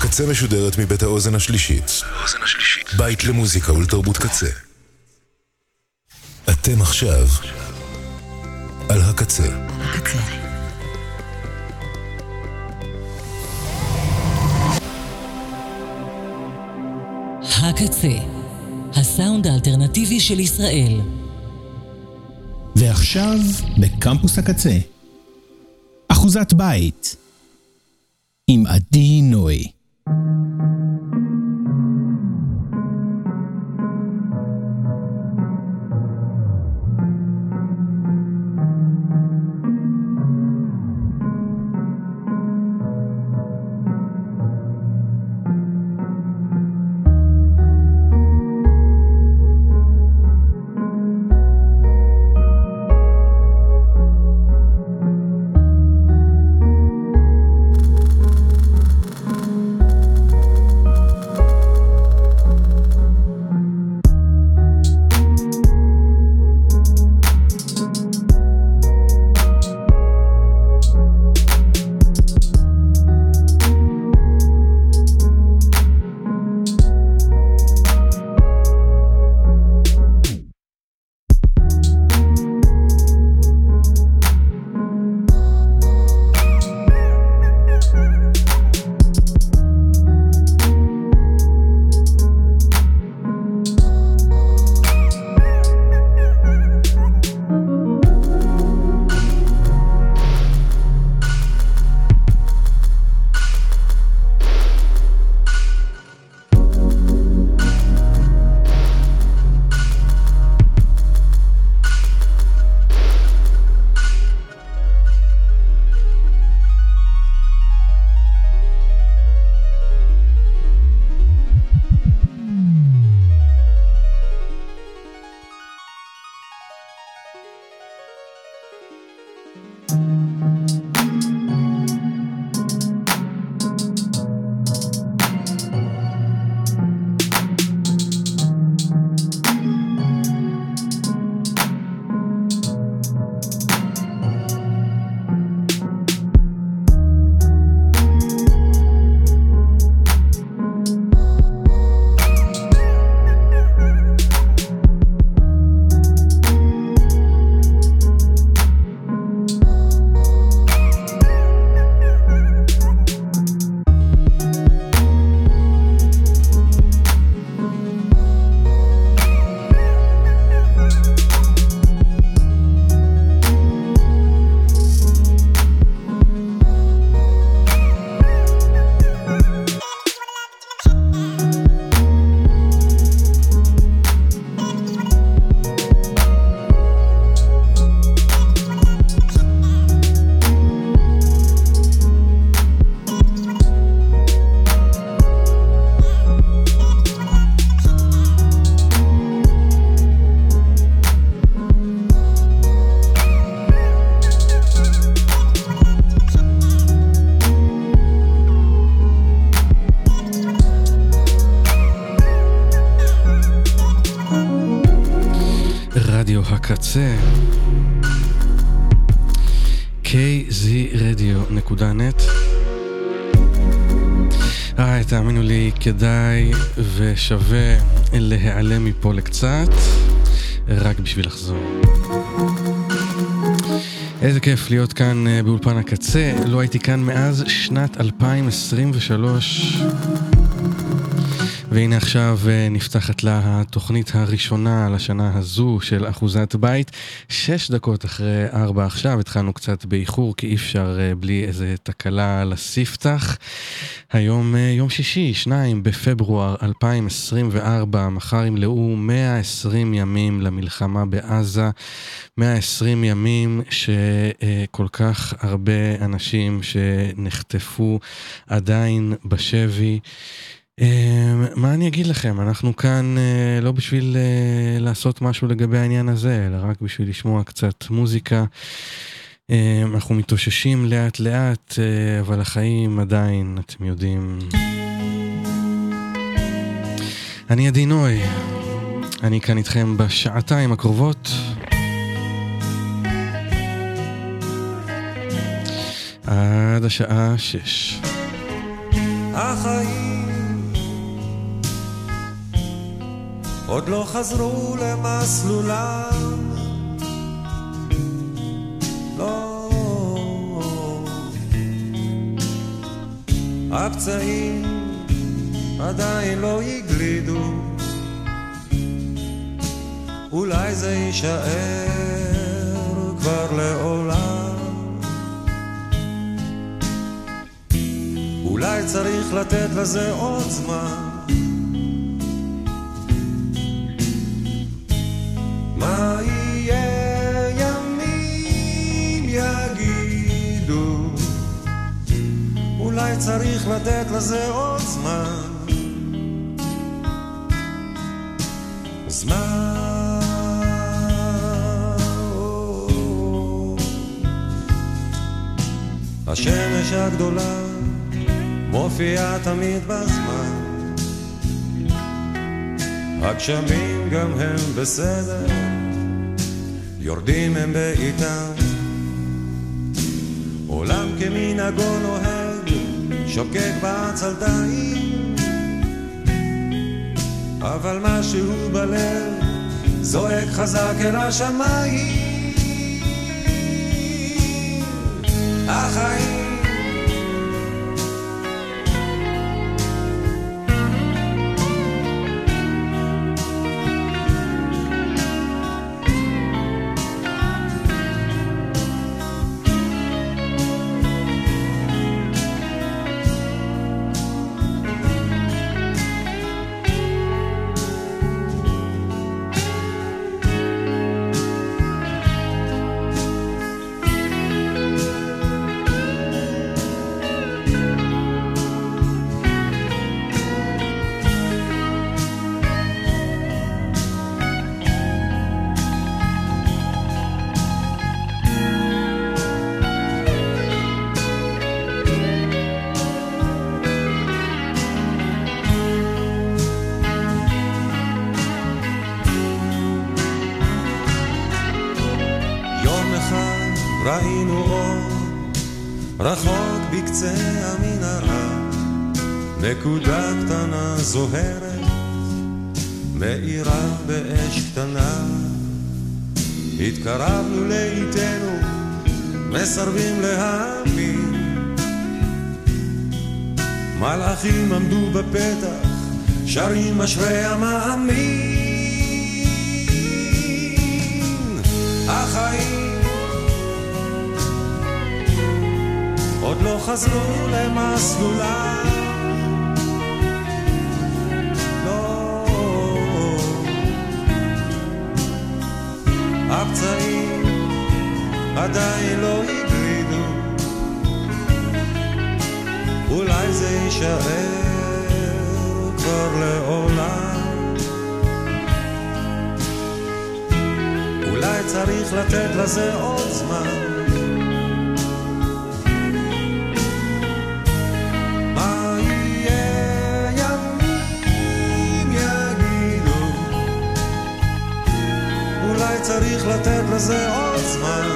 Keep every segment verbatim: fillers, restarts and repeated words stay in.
הקצה משודרת מבית האוזן השלישית. בית למוזיקה ולתרבות קצה. אתם עכשיו על הקצה. הקצה. הקצה, הסאונד האלטרנטיבי של ישראל. ועכשיו בקמפוס הקצה, אחוזת בית עם עדי נוי. הקצה קיי זי רדיו נקודה נט. אה, תאמינו לי, כדאי ושווה להיעלם מפה לקצת רק בשביל לחזור. איזה כיף להיות כאן באולפן הקצה. לא הייתי כאן מאז שנת אלפיים עשרים ושלוש, והנה עכשיו נפתחת לה התוכנית הראשונה לשנה הזו של אחוזת בית. שש דקות אחרי ארבע עכשיו, התחלנו קצת באיחור כי אי אפשר בלי איזה תקלה לספתח. היום יום שישי, שניים בפברואר אלפיים עשרים וארבע, מחר ימלאו מאה ועשרים ימים למלחמה בעזה. מאה ועשרים ימים שכל כך הרבה אנשים שנחטפו עדיין בשבי. מה אני אגיד לכם, אנחנו כאן לא בשביל לעשות משהו לגבי העניין הזה, אלא רק בשביל לשמוע קצת מוזיקה. אנחנו מתאוששים לאט לאט, אבל החיים עדיין, אתם יודעים. אני עדי נוי, אני כאן איתכם בשעתיים הקרובות. עד השעה שש. החיים עוד לא חזרו למסלולם, לא, הפצעים עדיין לא יגלידו, אולי זה יישאר כבר לעולם, אולי צריך לתת לזה עוד זמן, מה יהיה ימים יגידו, אולי צריך לתת לזה עוד זמן, זמן. השמש הגדולה מופיעה תמיד בזמן, הגשמים גם הם בסדר, יורדים הם בעיתם, עולם כמנהגו נוהג, שוקק בעצלתיים, אבל משהו בלב זועק חזק אל השמיים, החיים ראינו אור רחוק בקצה המנהרה, נקודה קטנה זוהרת מאירה באש קטנה, התקרבנו לאיתנו מסרבים להאמין, מלאכים עמדו בפתח שרים אשרי המאמין, החיים עוד לא חזרו למסלולם, לא, הפצעים עדיין לא הגלידו, אולי זה יישאר כבר לעולם, אולי צריך לתת לזה עוד זמן, צריך לתת לזה עוד זמן,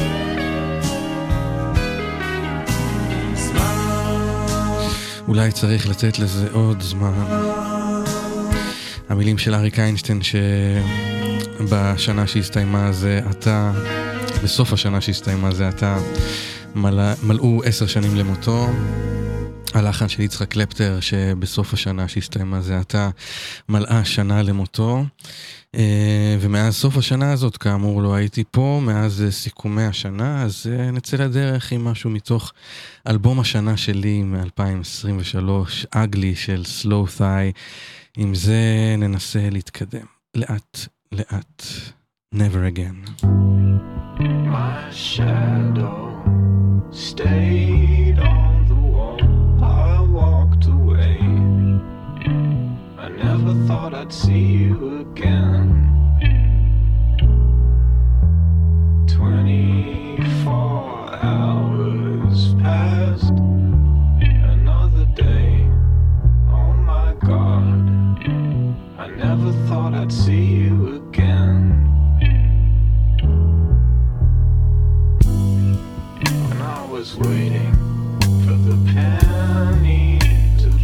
זמן. אולי צריך לתת לזה עוד זמן. המילים של אריק איינשטיין שבשנה שהסתיימה זה עתה, בסוף השנה שהסתיימה זה עתה, מלא, מלאו עשר שנים למותו. הלחן של יצחק קלפטר שבסוף השנה שהסתיימה זה עתה, מלאה שנה למותו. ומאז סוף השנה הזאת, כאמור, לא הייתי פה, מאז סיכומי השנה, אז נצא לדרך עם משהו מתוך אלבום השנה שלי מ-אלפיים עשרים ושלוש, אגלי של סלואו ת'יי. עם זה ננסה להתקדם לאט לאט. Never again. My shadow stayed on the wall, I walked away, I never thought I'd see you again. Twenty-four hours passed, another day, oh my God, I never thought I'd see you again. When I was waiting for the penny to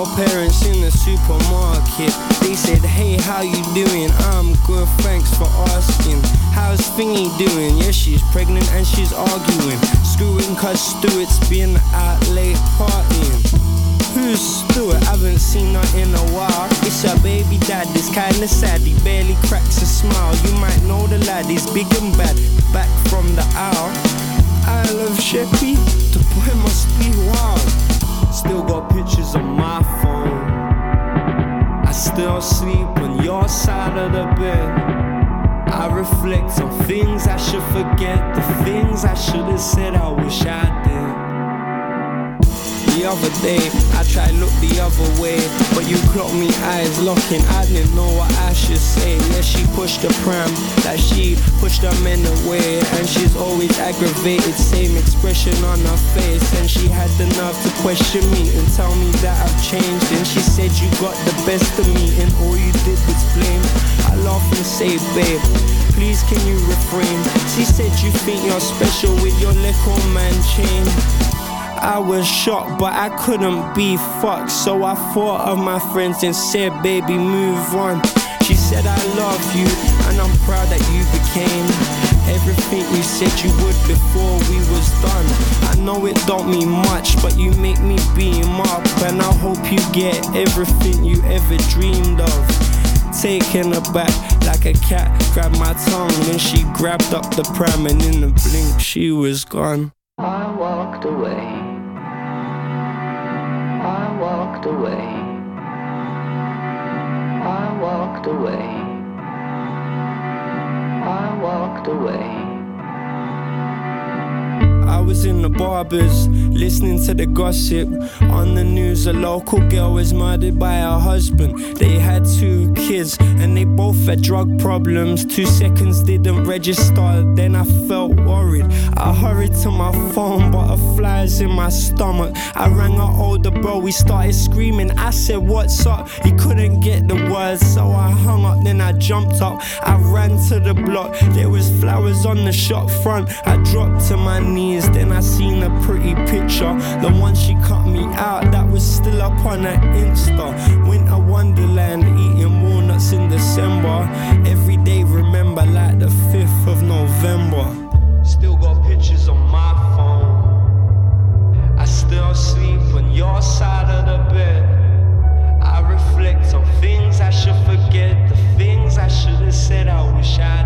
your parents in the supermarket. They said, hey, how you doing? I'm good, thanks for asking. How's Thingy doing? Yeah, she's pregnant and she's arguing. Screwing cause Stuart's been out late partying. Who's Stuart? Haven't seen her in a while. It's her baby dad, it's kinda sad. He barely cracks a smile. You might know the lad, he's big and bad. Back from the owl. I love Sheppy, the boy must be wild. Still got pictures on my phone. I still sleep on your side of the bed. I reflect on things I should forget. The things I should have said I wish I did. The other day, I tried look the other way, but you clocked me eyes locking. I didn't know what I should say. Yeah, she pushed the pram, like she pushed her men away. And she's always aggravated, same expression on her face. And she had the nerve to question me and tell me that I've changed. And she said you got the best of me and all you did was blame. I laugh and say, babe, please can you refrain? She said you think you're special with your little man chain. I was shocked, but I couldn't be fucked. So I thought of my friends and said, baby, move on. She said, I love you, and I'm proud that you became everything you said you would before we was done. I know it don't mean much, but you make me beam up. And I hope you get everything you ever dreamed of. Taken aback like a cat grabbed my tongue. Then she grabbed up the pram and in a blink she was gone. I walked away. I walked away. I walked away. I walked away. I was in the barbers, listening to the gossip. On the news, a local girl was murdered by her husband. They had two kids, and they both had drug problems. Two seconds didn't register, then I felt worried. I hurried to my phone, but a fly's in my stomach. I rang our older bro, we started screaming. I said, what's up? He couldn't get the words, so I hung up, then I jumped up. I ran to the block, there was flowers on the shop front. I dropped to my knees, then I seen a pretty picture. The one she cut me out, that was still up on her Insta. Winter Wonderland, eating walnuts in December. Every day remember like the fifth of November. Still got pictures on my phone. I still sleep on your side of the bed. I reflect on things I should forget. The things I should have said I wish I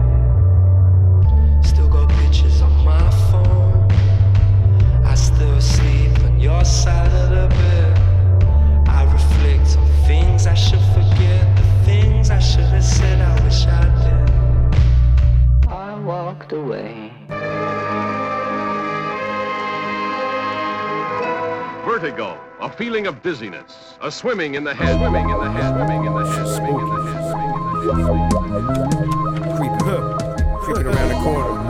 did. Still got pictures on my phone. I still sleep on your side of the bed. I reflect on things I should forget. The things I should have said I wish I did. I walked away. Vertigo, a feeling of dizziness, a swimming in the head, swimming in the head, swimming in the head, swimming in the head, swimming in the head. Creeping up, creeping around the corner.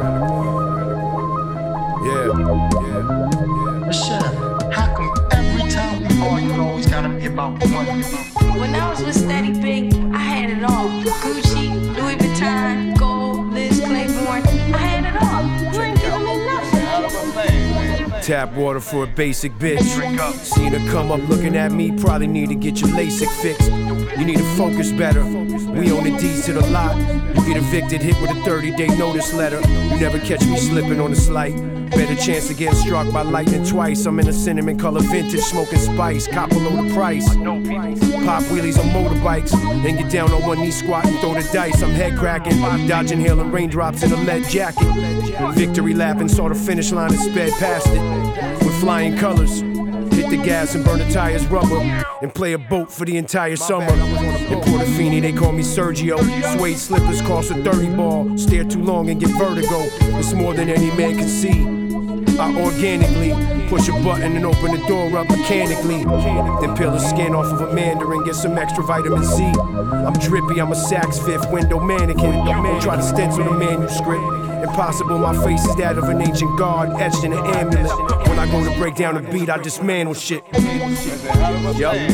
Yeah, yeah, yeah. Shut up. How come every time we argue, it always gotta be about money? When I was with Steady Big, I had it all. Gucci, Louis Vuitton, gold, Liz Claiborne. I had it all. You ain't giving me nothing. Tap water for a basic bitch. Seen her come up looking at me, probably need to get your LASIK fixed. You need to focus better. We own the deeds to the lot. You get evicted, hit with a thirty-day notice letter. You never catch me slipping on the slight. Better chance of getting struck by lightning twice. I'm in a cinnamon color vintage, smoking spice. Cop below the price. Pop wheelies on motorbikes. Then get down on one knee, squat and throw the dice. I'm head cracking, dodging hail and raindrops in a lead jacket. Victory lapping, saw the finish line and sped past it with flying colors. Hit the gas and burn the tires rubber and play a boat for the entire summer. In Portofino, they call me Sergio. Suede slippers cost a thirty ball. Stare too long and get vertigo. It's more than any man can see. I organically push a button and open the door up mechanically. Then peel the skin off of a mandarin, get some extra vitamin C. I'm drippy, I'm a Saks Fifth window mannequin. Don't try to stencil the manuscript. Impossible, my face is that of an ancient god, etched in an amulet. When I go to break down a beat, I dismantle shit. Yup.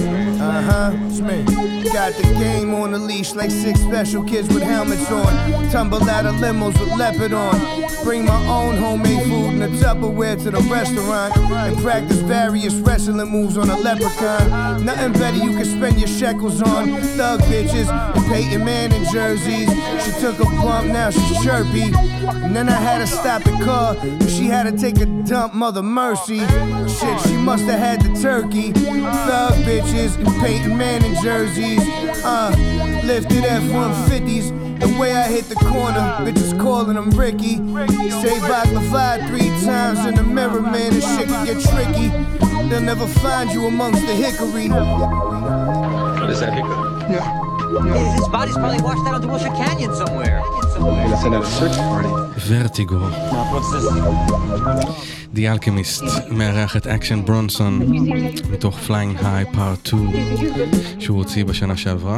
Uh-huh, it's me. Got the game on the leash like six special kids with helmets on. Tumble out of limos with leopard on. Bring my own homemade food in a Tupperware to the restaurant. And practice various wrestling moves on a leprechaun. Nothing better you can spend your shekels on. Thug bitches and Peyton Manning jerseys. She took a bump, now she's chirpy. And then I had to stop the car, cause she had to take a dump, mother mercy. Shit, she must have had the turkey. Thug bitches and Peyton Manning jerseys. Uh, lifted F one fifties. The way I hit the corner, bitches calling them Ricky. Say vodka five three times in the mirror, man, this shit can get tricky. They'll never find you amongst the hickory. What is that hickory? Yeah. Yeah. His body's probably washed out into Wilshire Canyon somewhere. somewhere. Let's send out a search party. ורטיגו. The Alchemist מארח את אקשן ברונסון מתוך Flying High Part שתיים שהוא הוציא בשנה שעברה.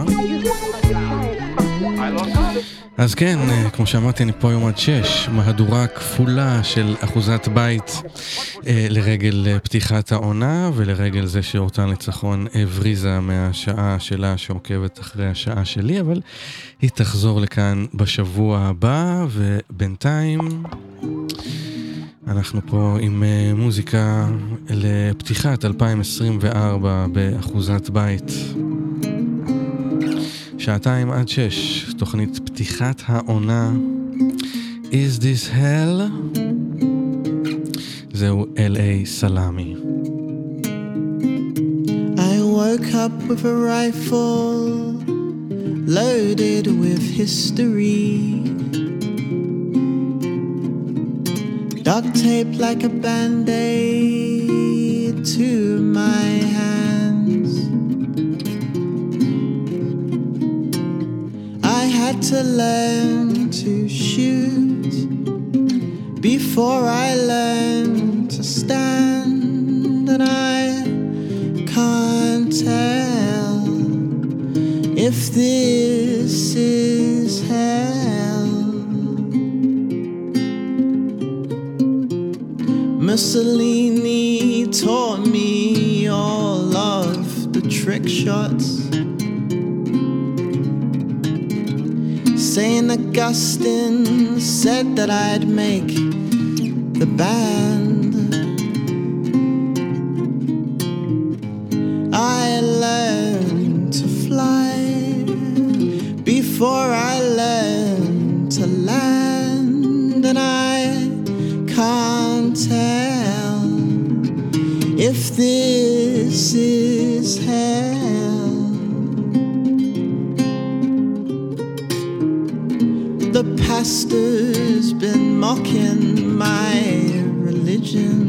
אז כן, כמו שאמרתי, אני פה היום עד שש, מהדורה כפולה של אחוזת בית אה, לרגל פתיחת העונה ולרגל זה שאורטל ניצחון הבריזה מהשעה שלה שעוקבת אחרי השעה שלי, אבל היא תחזור לכאן בשבוע הבא, ובינתיים אנחנו פה עם אה, מוזיקה לפתיחת אלפיים עשרים וארבע באחוזת בית. שעתיים עד שש, תוכנית פתיחת העונה. Is this hell? זהו אל איי סלאמי. I woke up with a rifle loaded with history, duct taped like a band-aid to my hands. I had to learn to shoot before I learned to stand, and I can't tell if this is hell. Mussolini taught me all of the trick shots. Saint Augustine said that I'd make the band. I learned to fly before I learned to land, and I can't tell if this is hell. The pastor's been mocking my religion.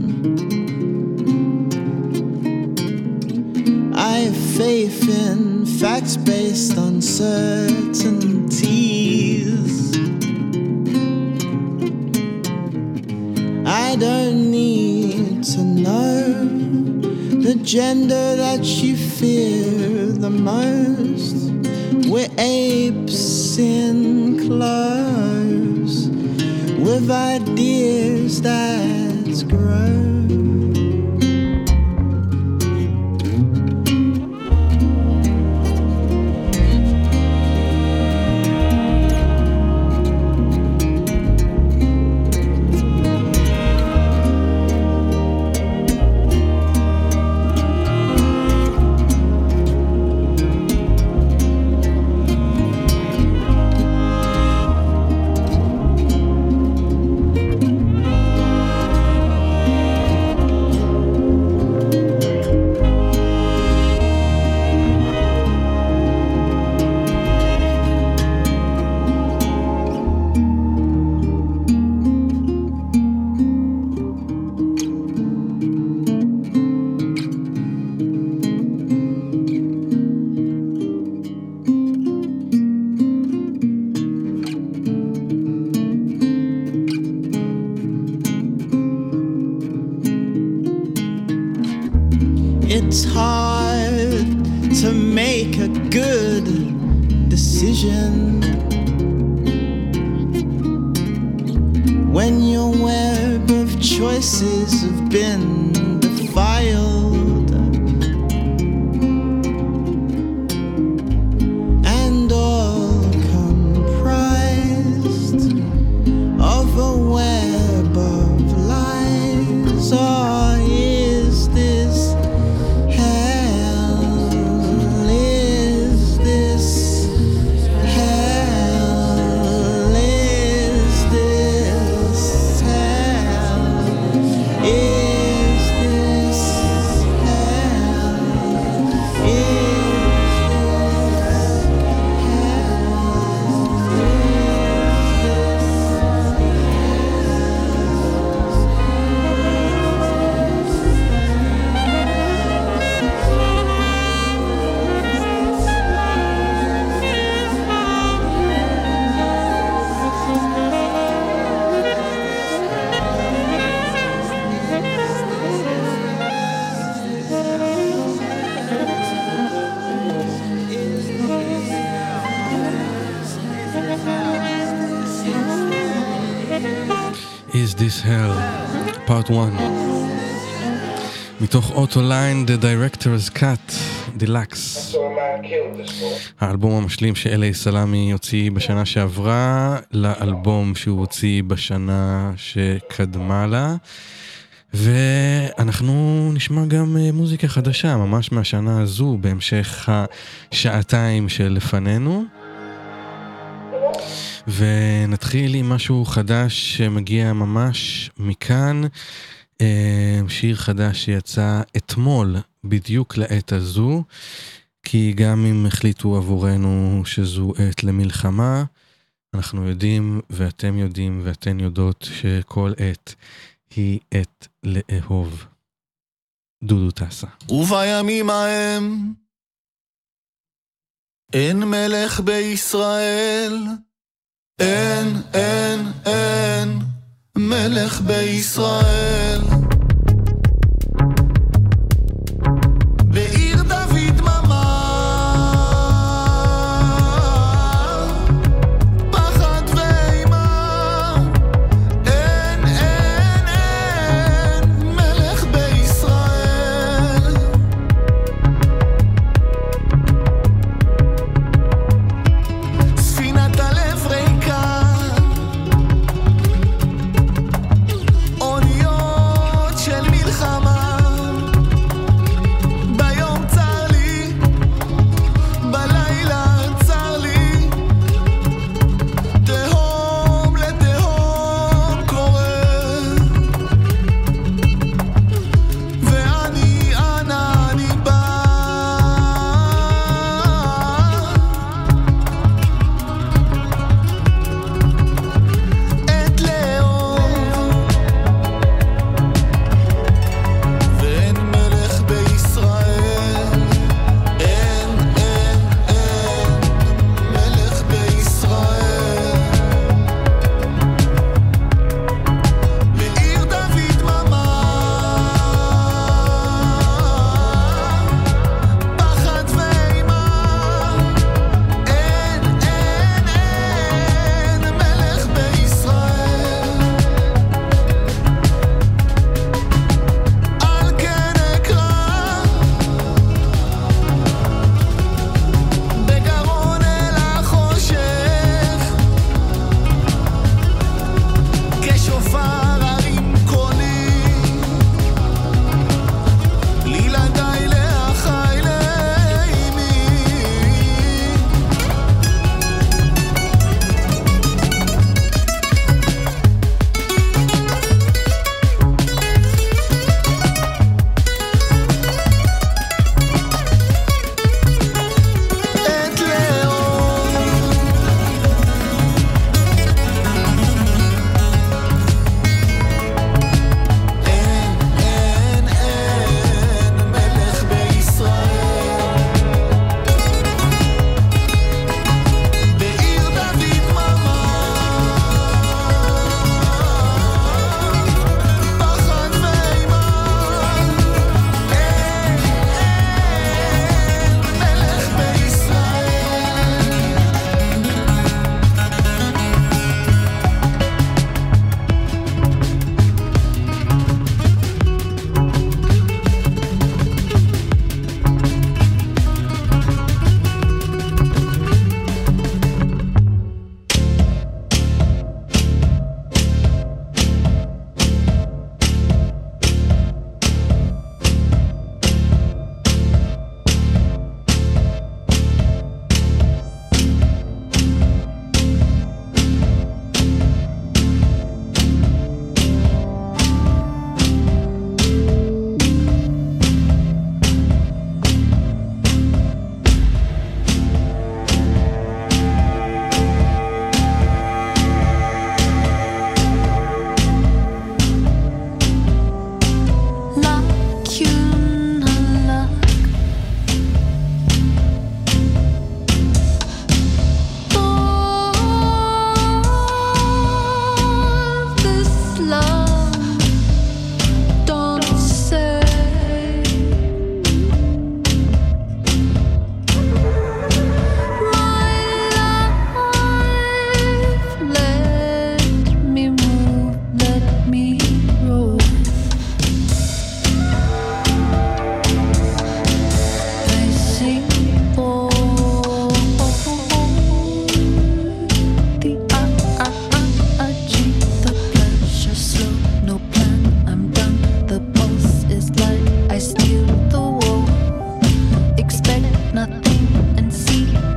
I have faith in facts based on certainties. I don't need to know the gender that you fear the most. We're apes in clothes with ideas that grow. It's hard to make a good decision when your web of choices have been defiled. This Hell, Part one. מתוך אוטוליין, The Director's Cut, Deluxe. האלבום המשלים שאלי סלמי הוציא בשנה שעברה, לאלבום שהוא הוציא בשנה שקדמה לה. ואנחנו נשמע גם מוזיקה חדשה, ממש מהשנה הזו, בהמשך השעתיים שלפנינו. ונתחיל עם משהו חדש שמגיע ממש מכאן, שיר חדש שיצא אתמול בדיוק לעת הזו, כי גם אם החליטו עבורנו שזו עת למלחמה, אנחנו יודעים ואתם יודעים ואתן יודעות שכל עת היא עת לאהוב. דודו טסה. ובימים ההם אין מלך בישראל, אין, אין, אין מלך בישראל. בעיר דוד ממש פחד ואימה, אין, אין, אין מלך בישראל. ספינת הלב ריקה, אוניות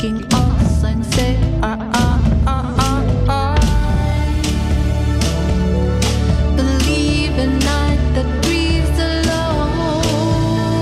sinking all sunset. I, I, I, I, I believe a night that breathes alone,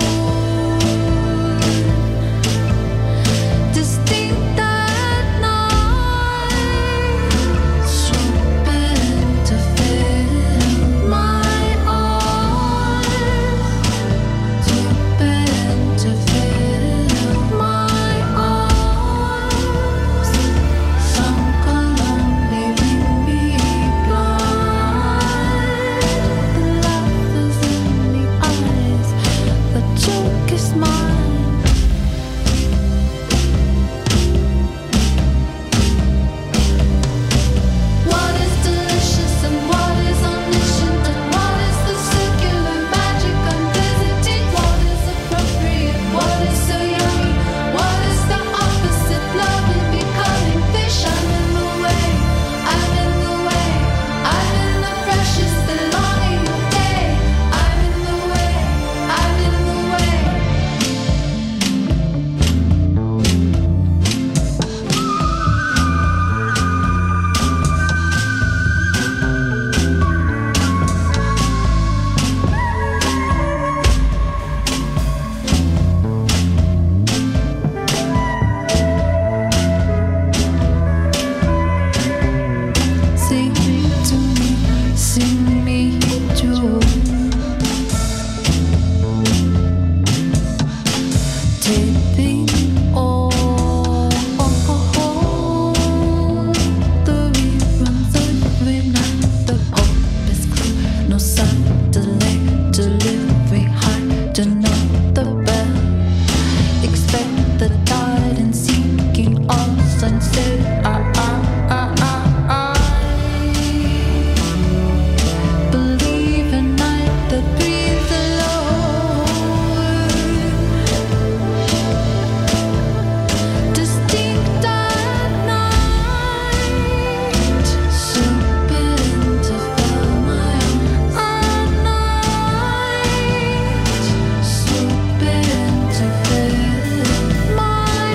distinct at night, open to fill my arms, open to fill my arms, sunk alone, leaving me blind. The laughter's in the eyes, the joke is mine. What is delicious and what is omniscient and what is the circular magic I'm visiting? What is appropriate? What is so yummy? What is the opposite? Love and becoming fish. I'm in the way. I'm in the way. I'm in the precious belonging of day. I'm in the way. I'm in the way. Sing to me, sing me joy. Taping all the reruns every night. The hope is clear, no sign, delay, delivery hard to know the bell. Expect the tide and sinking all sunset. I, I, I, I, I believe a night that breathes alone, distinct at night, open to fill my arms at night, open to fill my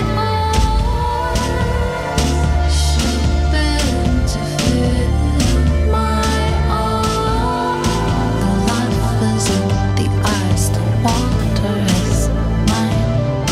arms, open to fill my arms. The life is in the eyes, the water is mine.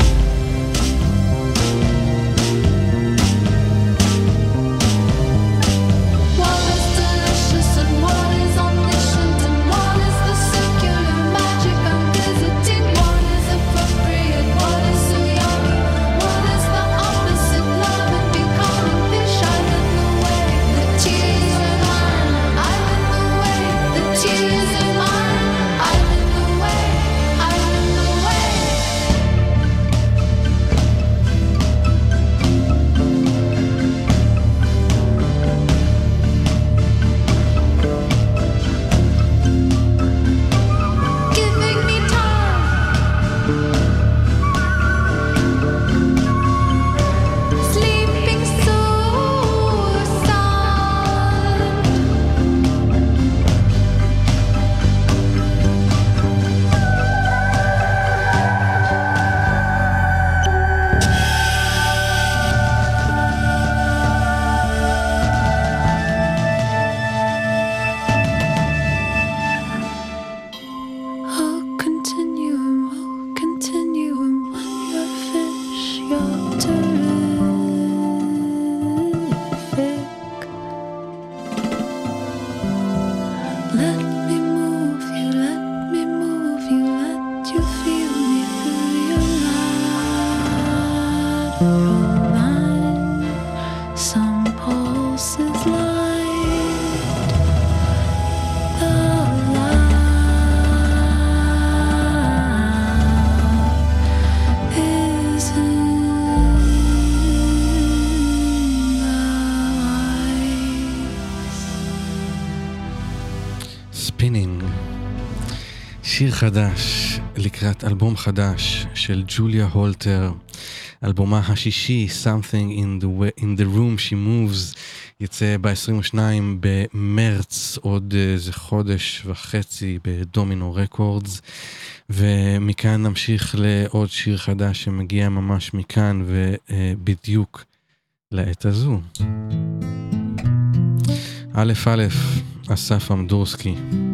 What is delicious and what is omniscient and what is the circular magic I'm visiting? What is appropriate? What is so yummy? What is the opposite? Love and becoming fish. I'm in the way. The tears are mine. I'm in the way. The tears are mine. I'm in the way. I'm in the way. Giving me time, sleeping so sound. Oh, continuum, oh, continuum, when you're fish, you're terrific. Let me move you, let me move you, let you feel me through your lateral line. Some pulses light the love is in the eyes. ספינינג, שיר חדש לקראת אלבום חדש של ג'וליה הולטר, אלבומה השישי, Something in the, way, in the Room She Moves, יצא ב-עשרים ושניים במרץ, עוד איזה חודש וחצי בדומינו רקורדס, ומכאן נמשיך לעוד שיר חדש שמגיע ממש מכאן ובדיוק לעת הזו. א' א', אסף אמדורסקי.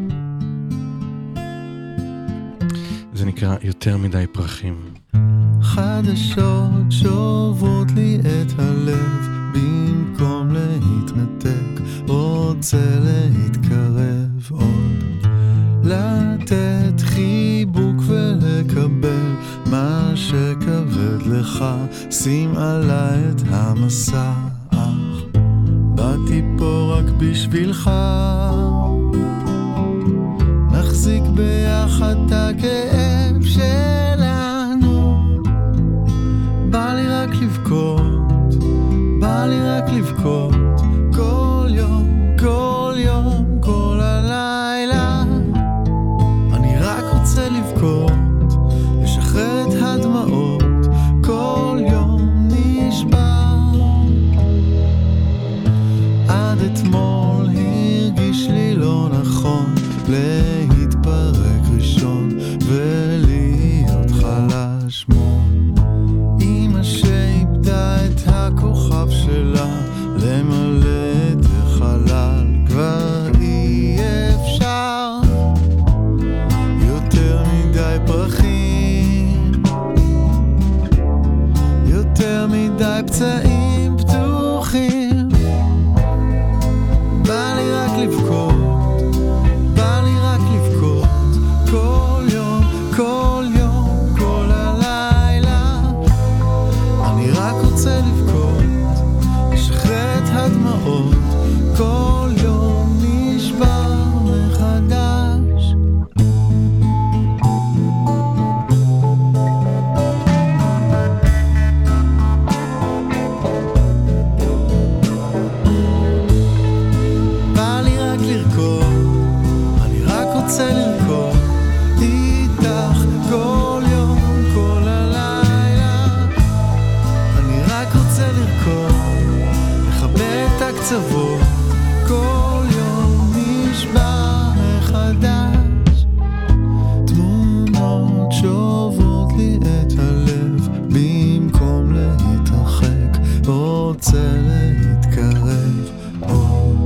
זה נקרא יותר מדי פרחים. חדשות שוברות לי את הלב, במקום להתנתק רוצה להתקרב עוד, לתת חיבוק ולקבל מה שכבד לך, שים עליי את המסע, אך באתי פה רק בשבילך, נחזיק ביחד את הכאב שלנו, בא לי רק לבכות, בא לי רק לבכות, כל יום, כל יום, כל הלילה, אני רק רוצה לבכות, לשחרר את הדמעות, כל יום נשבר, עד אתמול הרגיש לי לא נכון, להתפרק ראשון ולהיות חלש מול אמא שאיבדה את הכוכב שלה, למלא את החלל כבר אי אפשר, יותר מדי פרחים, יותר מדי פצעים פתוחים, בא לי רק לבכות, בא לי רק לבכות, כל יום, כל יום, כל הלילה, אני רק רוצה לבכות, לשחרר את הדמעות, כל יום נשבר מחדש. בא לי רק לרקוד, רוצה לרקוד איתך כל יום, כל הלילה, אני רק רוצה לרקוד, לכבה את הקצוות, כל יום נשבר מחדש, תמונות שוברות לי את הלב, במקום להתרחק, רוצה להתקרב עוד.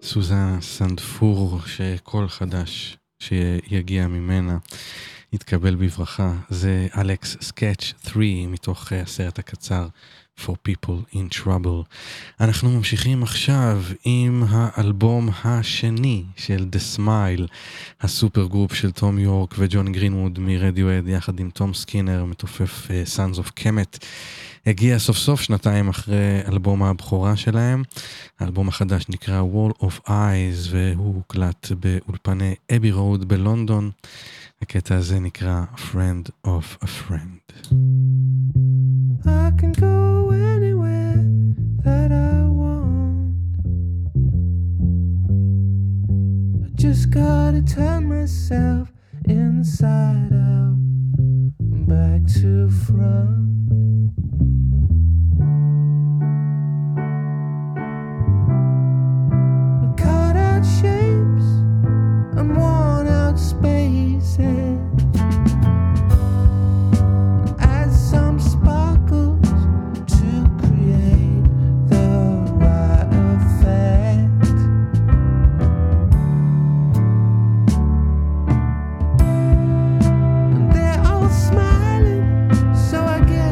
סוזן סנדפור, שכל חדש שיגיע ממנה יתקבל בברכה. זה אלכס סקאץ' שלוש מתוך הסרט הקצר For People in Trouble. אנחנו ממשיכים עכשיו עם האלבום השני של The Smile, הסופר גרופ של תום יורק וג'וני גרינווד מרדיואד יחד עם תום סקינר מתופף uh, Sons of Kemet. הגיע סוף סוף שנתיים אחרי אלבום הבכורה שלהם. האלבום החדש נקרא Wall of Eyes והוא הוקלט באולפני אבי רוד בלונדון. הקטע הזה נקרא Friend of a Friend. I can go anywhere that I want. I just gotta turn myself inside out and back to front. We cut out shapes and worn out spaces. Add some sparkles to create the right effect. And they're all smiling, so I guess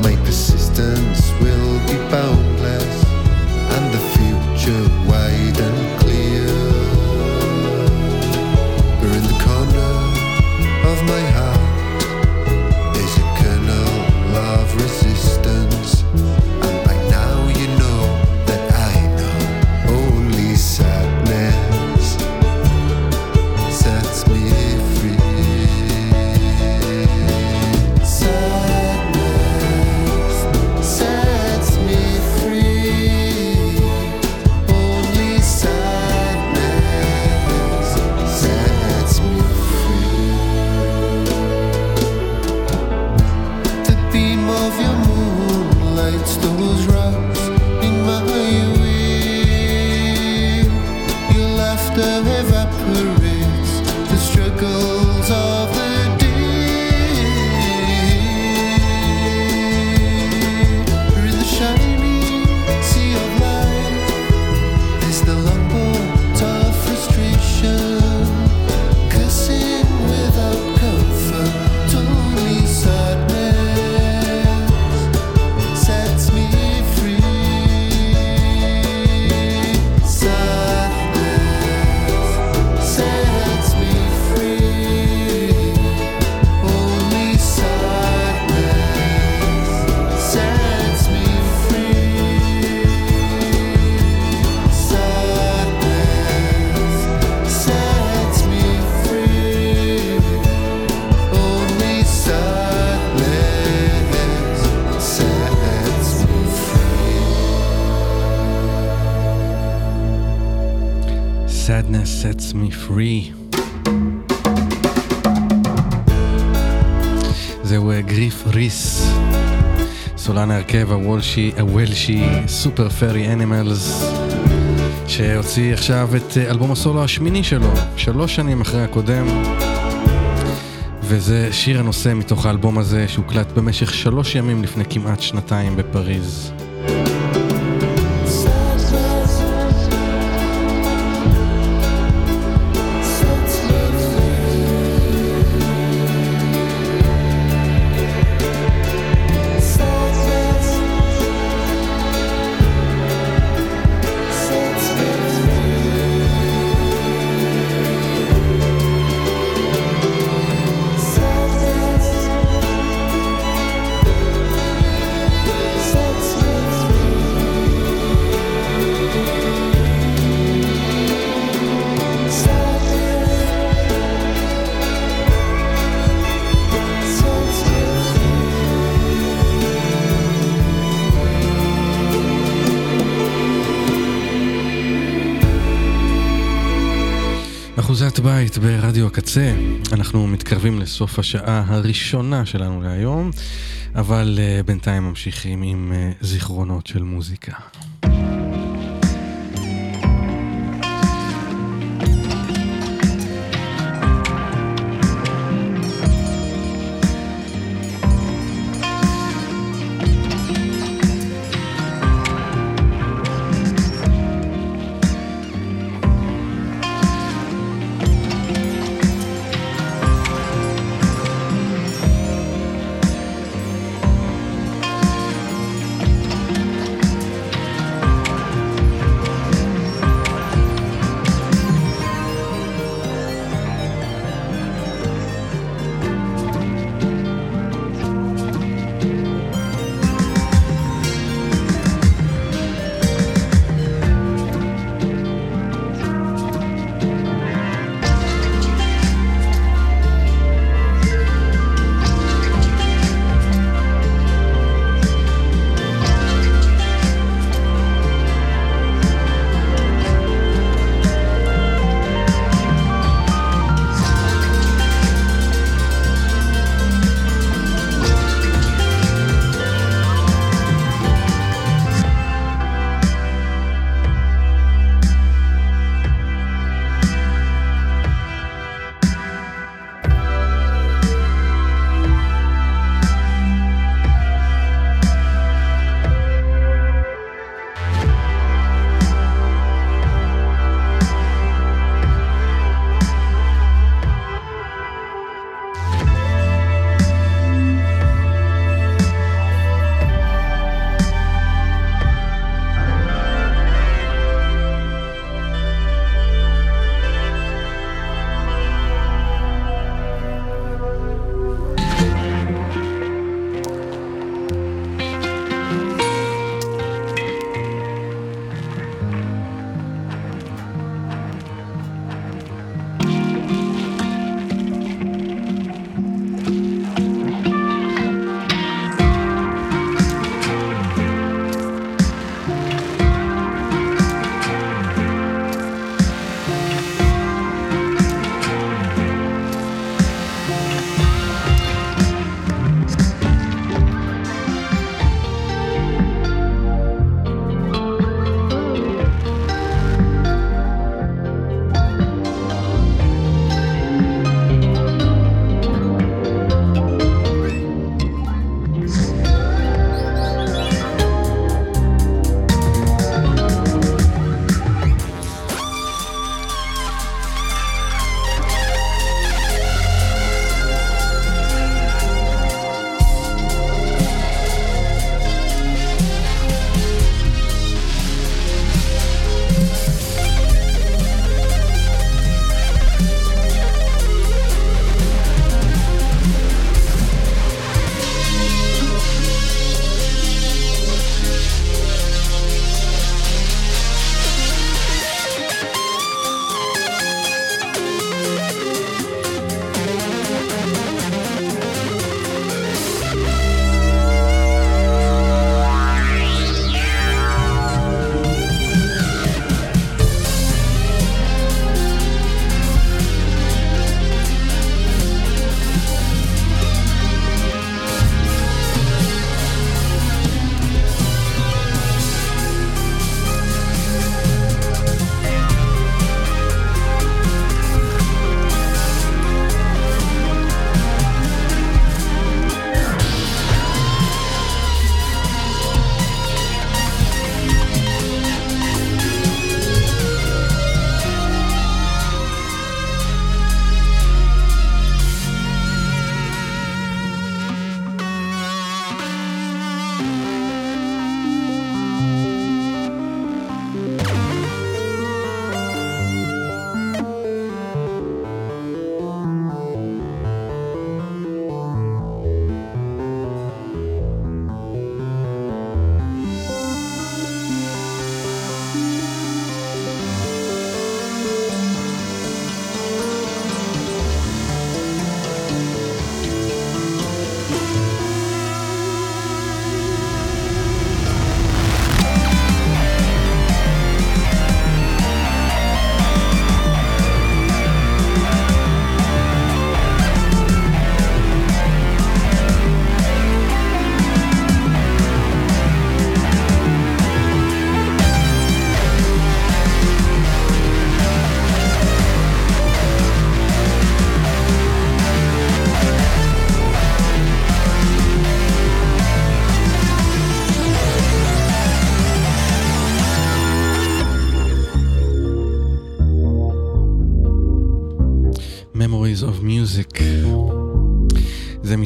My persistence will be boundless, and the future wide and clear. But in the corner of my heart there's a kernel of resistance, and by now you know that I know only sadness sets me free. Sadness sets me free. Only sadness sets me free. The beam of your moonlight those rocks in my way. Your laughter evaporates the struggles of the day. In the shining sea of light is the longboat of frustration, cursing without comfort. Only sadness sets me free. Sadness sets me free. Only sadness sets me free. Sadness sets me free. Only sadness sets me free. Sadness sets me free. זהו גריף ריס, סולן ההרכב הוולשי, הוולשי סופר פרי אנימלס, שהוציא עכשיו את אלבום הסולו השמיני שלו, שלוש שנים אחרי הקודם, וזה שיר הנושא מתוך האלבום הזה שהוקלט במשך שלוש ימים לפני כמעט שנתיים בפריז. אחוזת בית ברדיו הקצה. אנחנו מתקרבים לסוף השעה הראשונה שלנו להיום, אבל uh, בינתיים ממשיכים עם uh, זיכרונות של מוזיקה.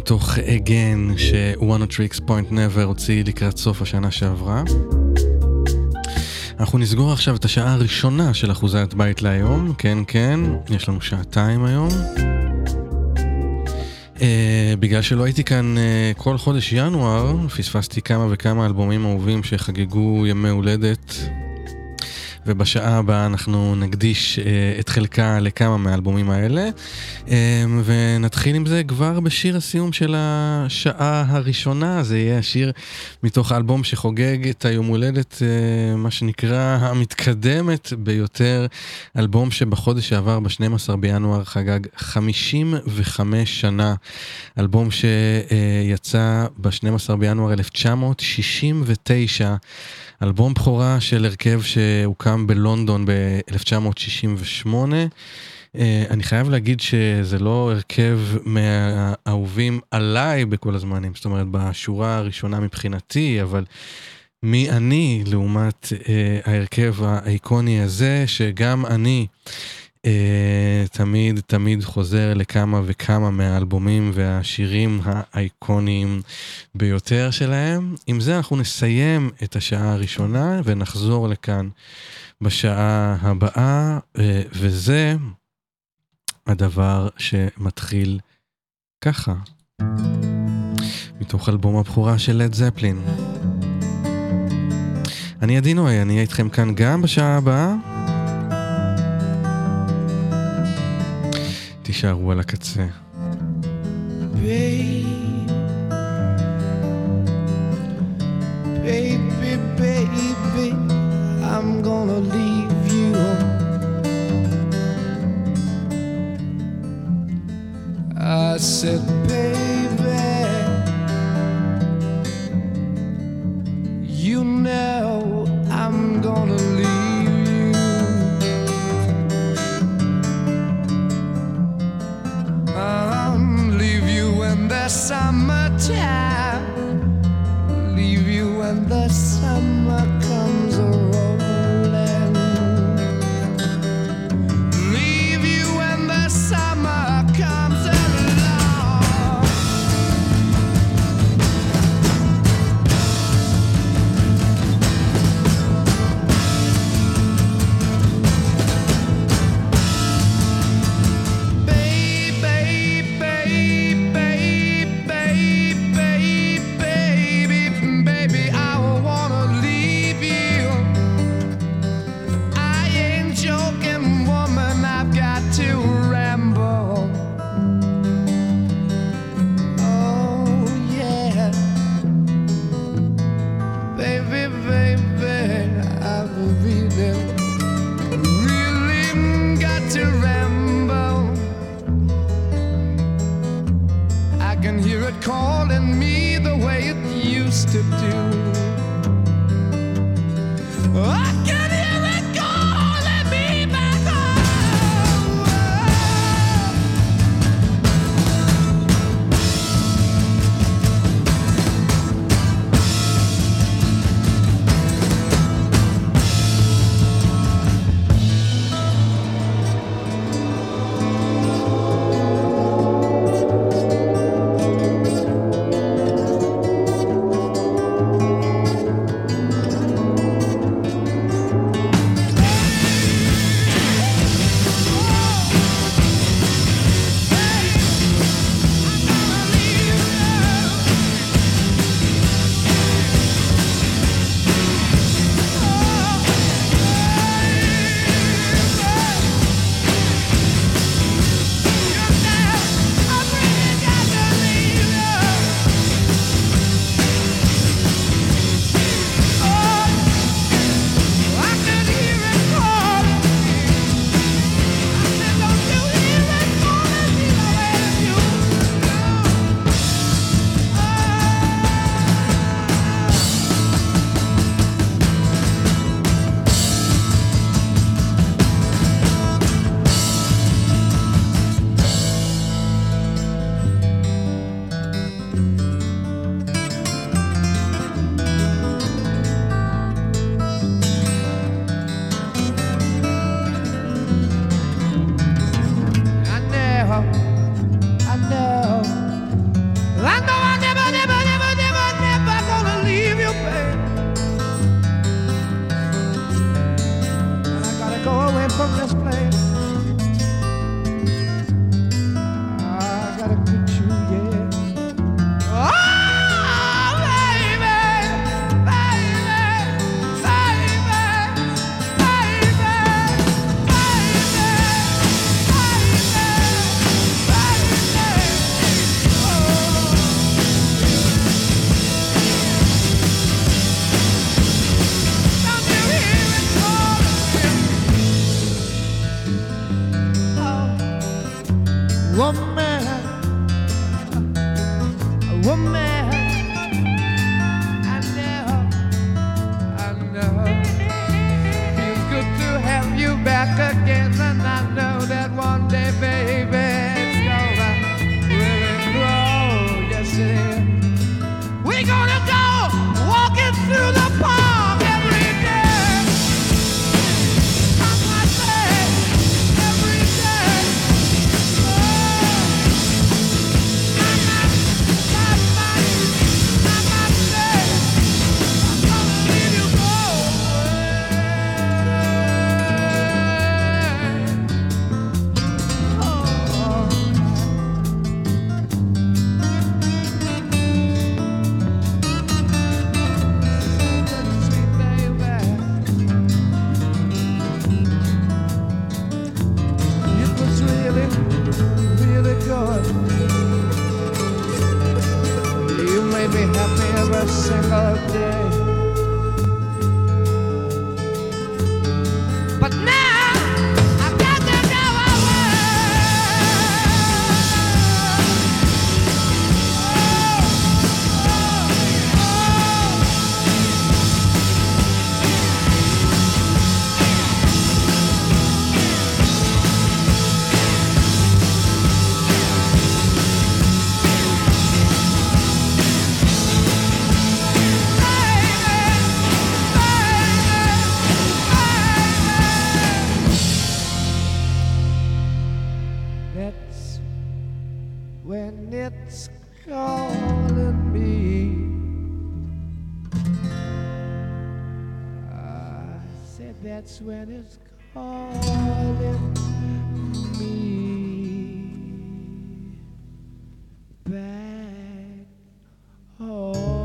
מתוך Again ש-One Tricks Point Never הוציא לקראת סוף השנה שעברה. אנחנו נסגור עכשיו את השעה הראשונה של אחוזת בית להיום. כן, כן, יש לנו שעתיים היום. Uh, בגלל שלא הייתי כאן uh, כל חודש ינואר, פספסתי כמה וכמה אלבומים אהובים שחגגו ימי הולדת, ובשעה הבאה אנחנו נקדיש uh, את חלקה לכמה מהאלבומים האלה, uh, ונתחיל עם זה כבר בשיר הסיום של השעה הראשונה. זה יהיה השיר מתוך האלבום שחוגג את היום הולדת, uh, מה שנקרא המתקדמת ביותר, אלבום שבחודש שעבר ב-שנים עשר בינואר חגג חמישים וחמש שנה, אלבום שיצא ב-שנים עשר בינואר אלף תשע מאות שישים ותשע, אלבום בכורה של הרכב שהוקם בלונדון ב-אלף תשע מאות שישים ושמונה. אני חייב להגיד שזה לא הרכב מהאהובים עליי בכל הזמנים, זאת אומרת בשורה הראשונה מבחינתי, אבל מי אני לעומת ההרכב האיקוני הזה, שגם אני תמיד תמיד חוזר לכמה וכמה מהאלבומים והשירים האיקוניים ביותר שלהם. עם זה אנחנו נסיים את השעה הראשונה ונחזור לכאן בשעה הבאה, וזה הדבר שמתחיל ככה, מתוך אלבום הבכורה של לד זפלין. אני עדי נוי, אני אהיה איתכם כאן גם בשעה הבאה. תישארו על הקצה. Baby, baby, baby, I'm gonna leave you. I said, baby, you know I'm gonna leave you. I'll leave you in the summertime, leave you when the summer comes rolling, leave you when the summer comes along. Calling me the way it used to do. I can hear it calling me back home. woman, woman. I know, I know. Feels good to have you back again, and I know that one day, baby, it's gonna really grow. Yes, it is. We're gonna go walking through the park every day. I might say every day. You made me happy every single day. But now I've got to go away. That's when it's calling me. I said that's when it's calling me back home.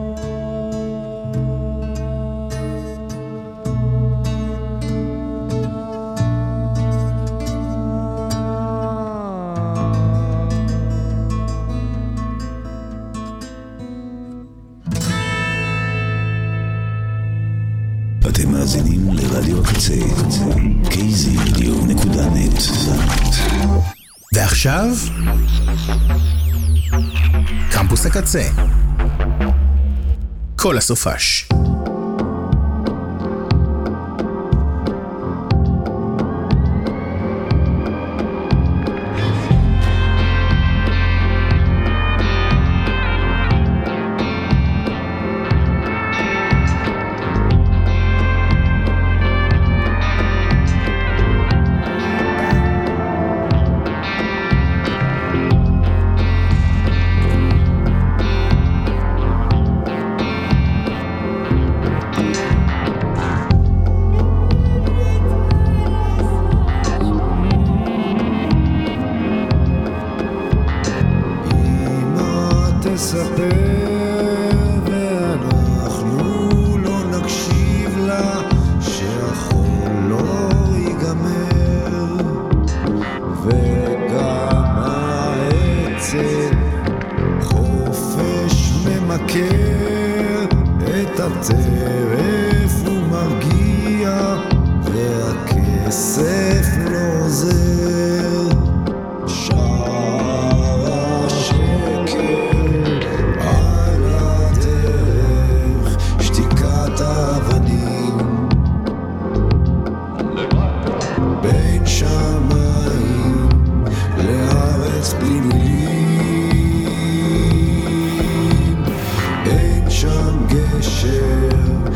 אתם מאזינים לרדיו הקצה, קיי זי רדיו נקודה נט. ועכשיו, קמפוס הקצה. כל הסופש.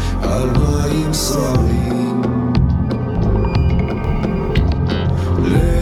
Let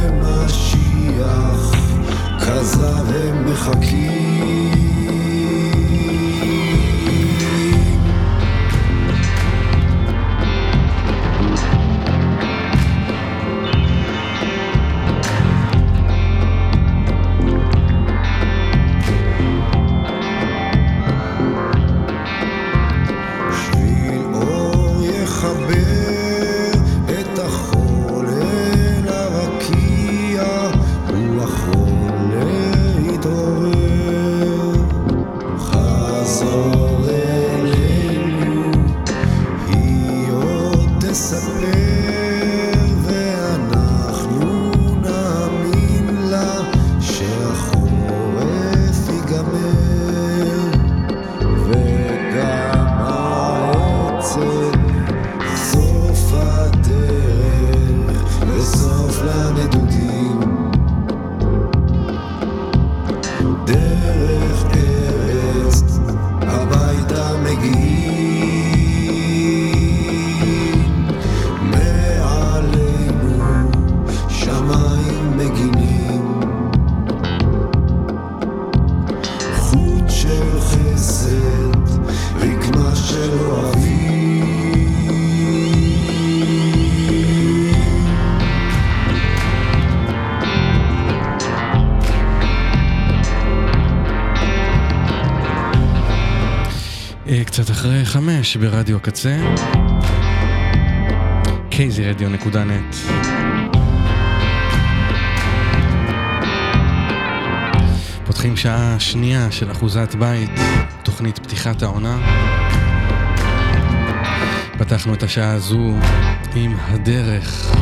קצת אחרי חמש ברדיו הקצה, קייזי רדיו נקודה נט. פותחים שעה שנייה של אחוזת בית, תוכנית פתיחת העונה. פתחנו את השעה הזו עם הדרך.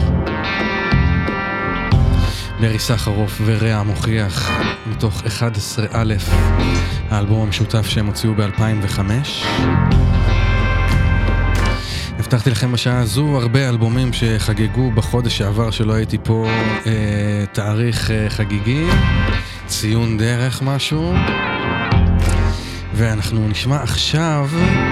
ברי סחרוף ורע מוכיח מתוך אחד עשר א', האלבום המשותף שהם הוציאו ב-אלפיים וחמש. הבטחתי לכם בשעה הזו הרבה אלבומים שחגגו בחודש שעבר שלא הייתי פה, אה, תאריך אה, חגיגי, ציון דרך משהו. ואנחנו נשמע עכשיו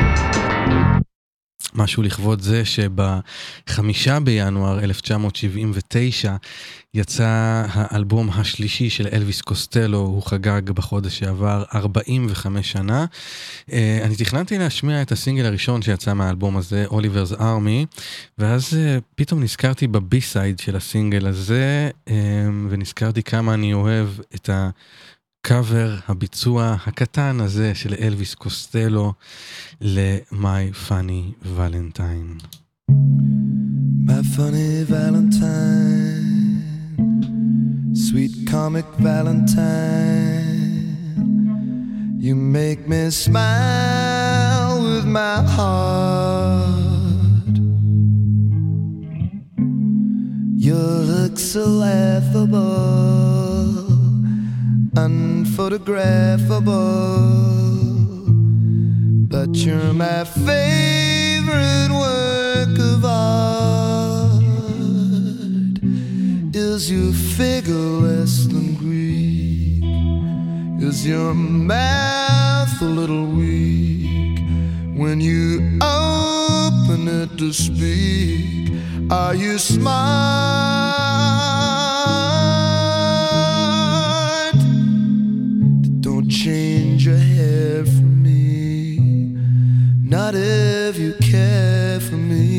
משהו לכבוד זה שבחמישה בינואר אלף תשע מאות שבעים ותשע יצא האלבום השלישי של אלוויס קוסטלו, הוא חגג בחודש שעבר ארבעים וחמש שנה. אני תכננתי להשמיע את הסינגל הראשון שיצא מהאלבום הזה, אוליבר's Army, ואז פתאום נזכרתי בבי-סייד של הסינגל הזה, ונזכרתי כמה אני אוהב את ה... קאבר, הביצוע הקטן הזה של אלוויס קוסטלו ל-My Funny Valentine. My funny Valentine, sweet comic Valentine, you make me smile with my heart. Your looks so laughable, unphotographable, but you're my favorite work of art. Is your figure less than Greek? Is your mouth a little weak when you open it to speak? Are you smart? Don't change your hair for me, not if you care for me.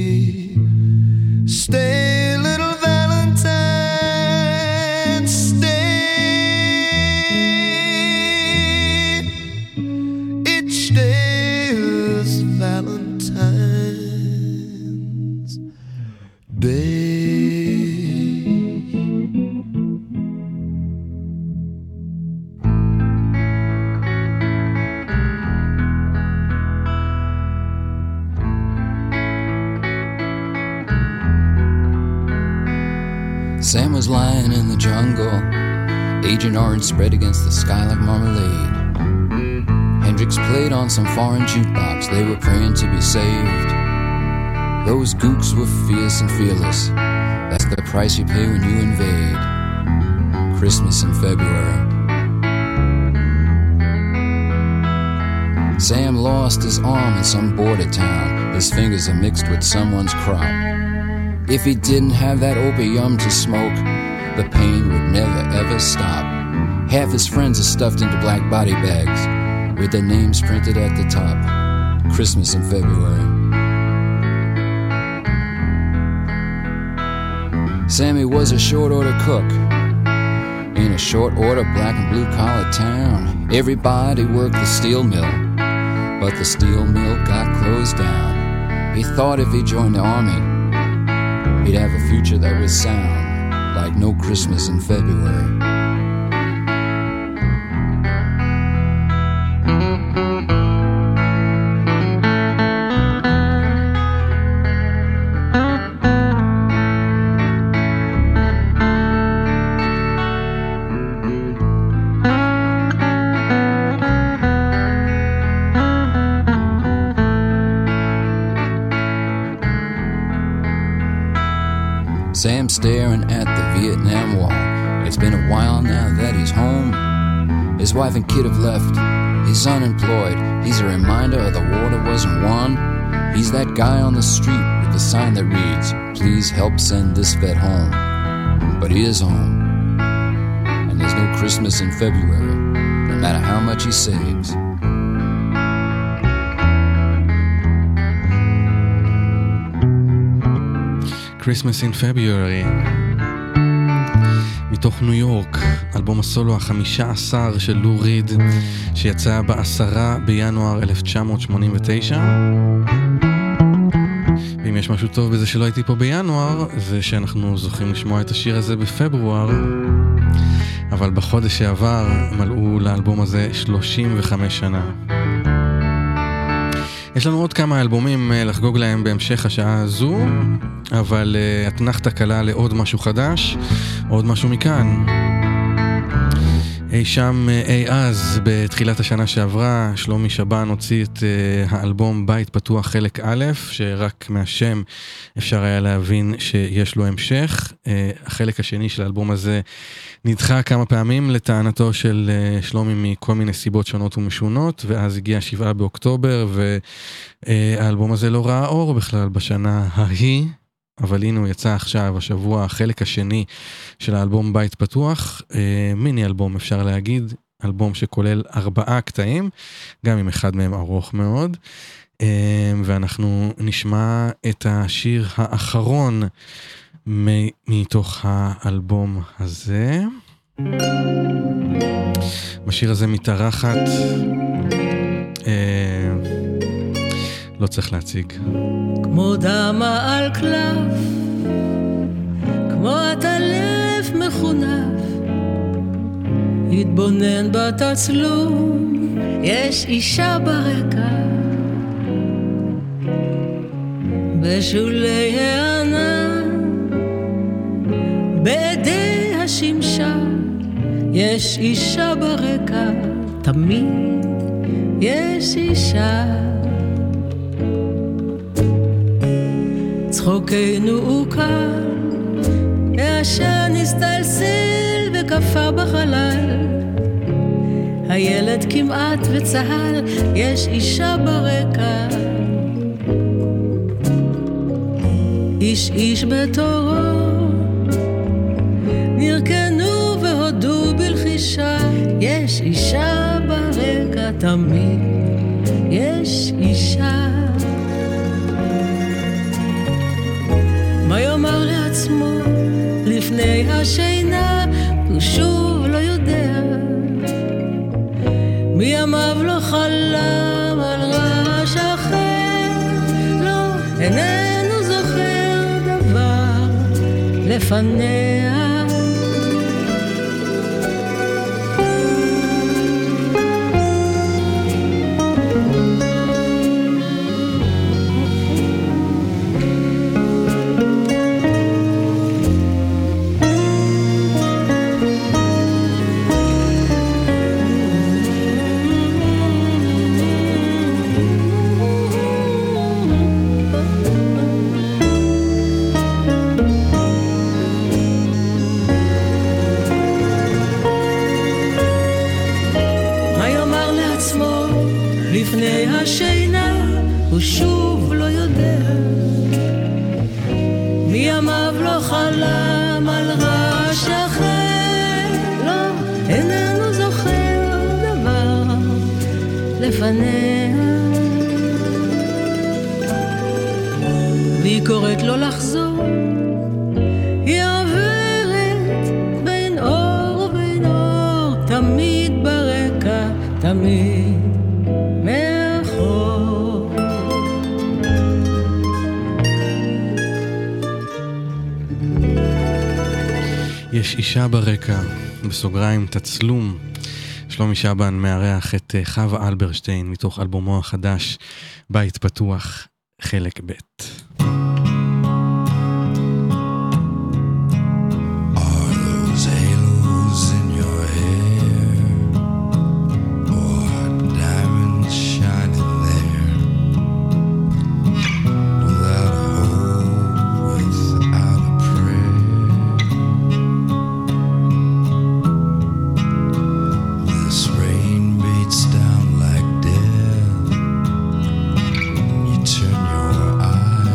Stay, little Valentine, stay. Each day is Valentine's Day. Sam was lying in the jungle, Agent Orange spread against the sky like marmalade. Hendrix played on some foreign jukebox, they were praying to be saved. Those gooks were fierce and fearless, that's the price you pay when you invade. Christmas in February. Sam lost his arm in some border town, his fingers are mixed with someone's crop. If he didn't have that opium to smoke, the pain would never ever stop. Half his friends are stuffed into black body bags with their names printed at the top. Christmas in February. Sammy was a short order cook in a short order black and blue collar town. Everybody worked the steel mill, but the steel mill got closed down. He thought if he joined the army, he'd have a future that was sound, like no Christmas in February. Sam staring at the Vietnam Wall. It's been a while now that he's home. His wife and kid have left. He's unemployed. He's a reminder of the war that wasn't won. He's that guy on the street with the sign that reads, "Please help send this vet home." But he is home. And there's no Christmas in February, no matter how much he saves. Christmas in February, מתוך ניו יורק, אלבום הסולו החמישה עשר של לו ריד, שיצא בעשרה בינואר אלף תשע מאות שמונים ותשע. ואם יש משהו טוב בזה שלא הייתי פה בינואר, זה שאנחנו זוכים לשמוע את השיר הזה בפברואר, אבל בחודש שעבר מלאו לאלבום הזה שלושים וחמש שנה. יש לנו עוד כמה אלבומים לחגוג להם בהמשך השעה הזו, אבל uh, התנחת קלה לעוד משהו חדש, עוד משהו מכאן. אי שם אי אז, בתחילת השנה שעברה, שלומי שבן הוציא את uh, האלבום בית פתוח חלק א', שרק מהשם אפשר היה להבין שיש לו המשך. Uh, החלק השני של האלבום הזה נדחה כמה פעמים לטענתו של uh, שלומי מכל מיני סיבות שונות ומשונות, ואז הגיע שבעה באוקטובר, והאלבום הזה לא ראה אור בכלל בשנה ההיא. אבל הנה הוא יצא עכשיו, השבוע, החלק השני של האלבום בית פתוח, אה, מיני אלבום אפשר להגיד, אלבום שכולל ארבעה קטעים, גם אם אחד מהם ארוך מאוד, אה, ואנחנו נשמע את השיר האחרון מ- מתוך האלבום הזה. בשיר הזה מתארחת, אה, לא צריך להציג. כמו דמה על קלף, כמו הטלף מחונף, התבונן בתצלום, יש אישה ברקע, בשולי הענן, בידי השמשה, יש אישה ברקע, תמיד יש אישה. צחוקנו הוא קל, העשן הסתלסל וקפה בחלל, הילד כמעט וצהל, יש אישה ברקע, איש איש בתורו, נרקנו והודו בלחישה, יש אישה ברקע, תמיד יש אישה. מה יאמר לעצמו לפני השינה, הוא שוב לא יודע, מימיו לא חלם על רעש אחר, לא, איננו זוכר דבר לפניה. לפני השינה הוא שוב לא יודע, מימיו לא חלם על רעש אחר, לא, איננו זוכר דבר לפניה, והיא קוראת לו לחזור, היא עוברת בין אור ובין אור, תמיד ברקע, תמיד יש אישה ברקע, בסוגריים תצלום. שלומי שבן מארח את חווה אלברשטיין מתוך אלבומו החדש בית פתוח חלק ב'. Turn your eyes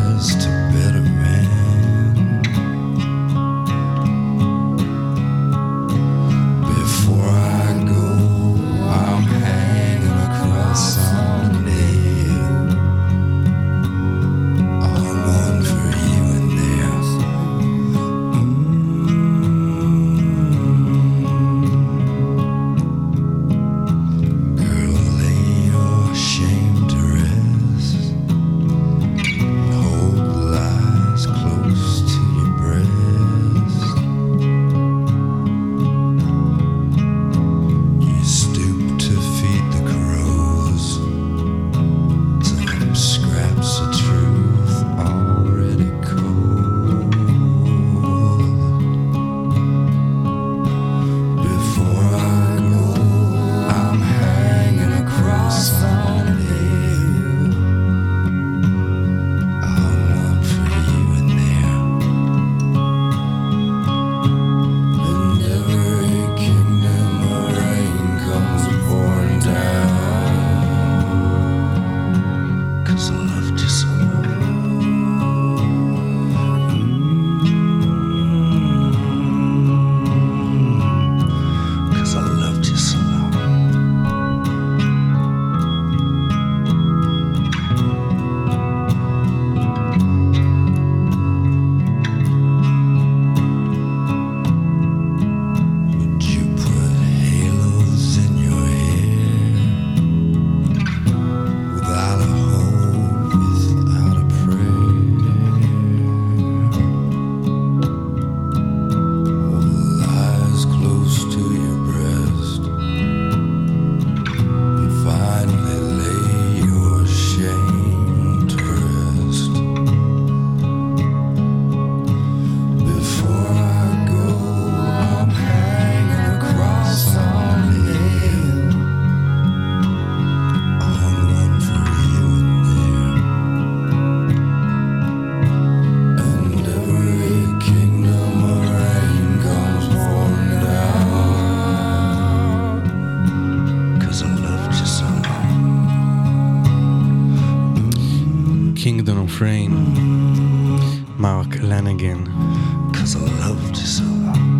Kingdom of Rain, מרק לנגן. Cause I loved you so.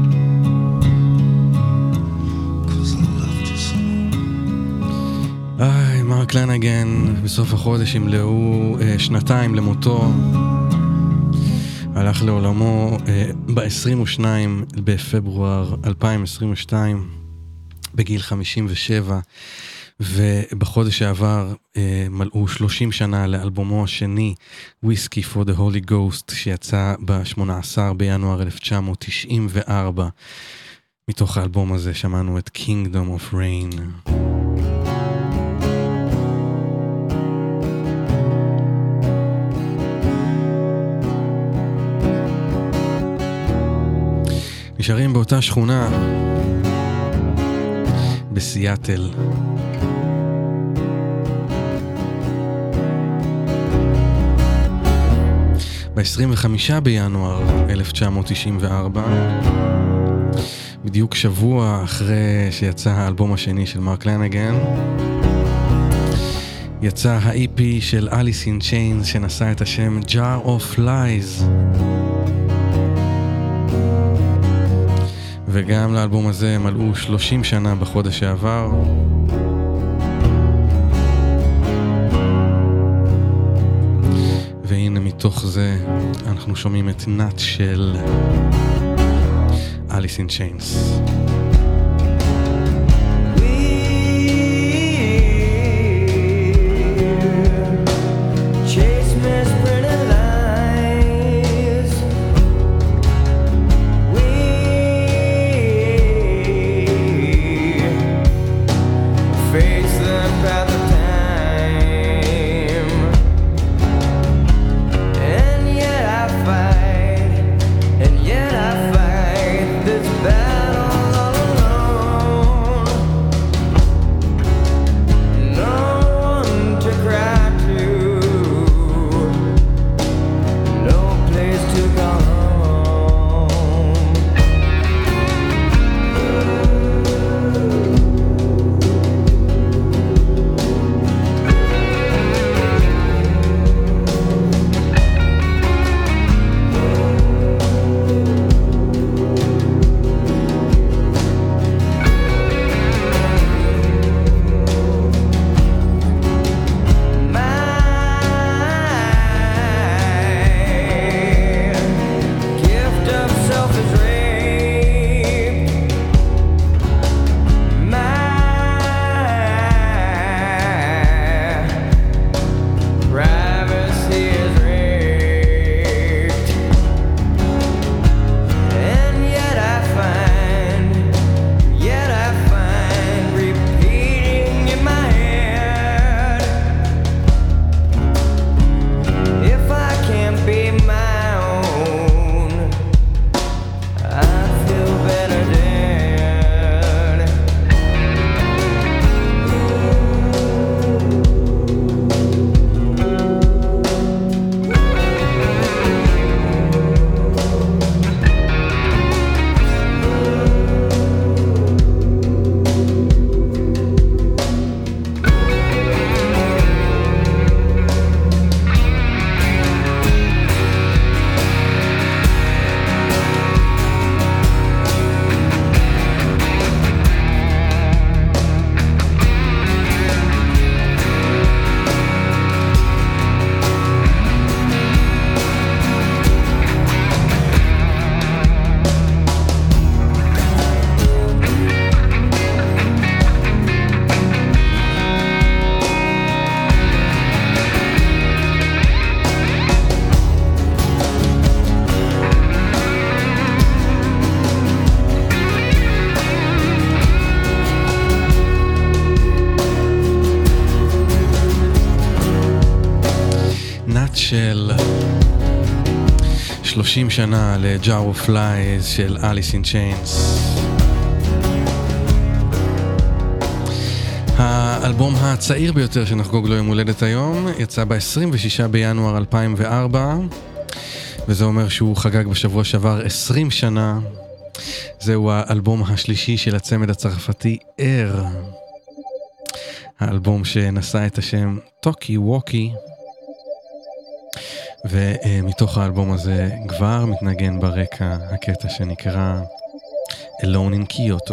Cause I loved you so. איי, מרק לנגן, בסוף החודש ימלאו אה, שנתיים למותו. הלך לעולמו אה, ב-עשרים ושניים בפברואר אלפיים עשרים ושתיים, בגיל חמישים ושבע, ובחודש שעבר אה, מלאו שלושים שנה לאלבומו השני, Whiskey for the Holy Ghost, שיצא ב-שמונה עשר בינואר אלף תשע מאות תשעים וארבע. מתוך האלבום הזה שמענו את Kingdom of Rain. נשארים באותה שכונה בסיאטל. ב-עשרים וחמישה בינואר אלף תשע מאות תשעים וארבע, בדיוק שבוע אחרי שיצא האלבום השני של מרק לנגן, יצא ה-אי פי של Alice in Chains שנשא את השם Jar of Lies. וגם לאלבום הזה מלאו שלושים שנה בחודש שעבר. והנה מתוך זה אנחנו שומעים את נאט של Alice in Chains. של שלושים שנה ל-Jar of Lies של Alice in Chains. האלבום הצעיר ביותר שנחגוג לו יום הולדת היום יצא ב-עשרים ושישה בינואר אלפיים וארבע, וזה אומר שהוא חגג בשבוע שעבר עשרים שנה. זהו האלבום השלישי של הצמד הצרפתי אר, האלבום שנשא את השם טוקי ווקי. ומתוך האלבום הזה כבר מתנגן ברקע הקטע שנקרא Alone in Kyoto.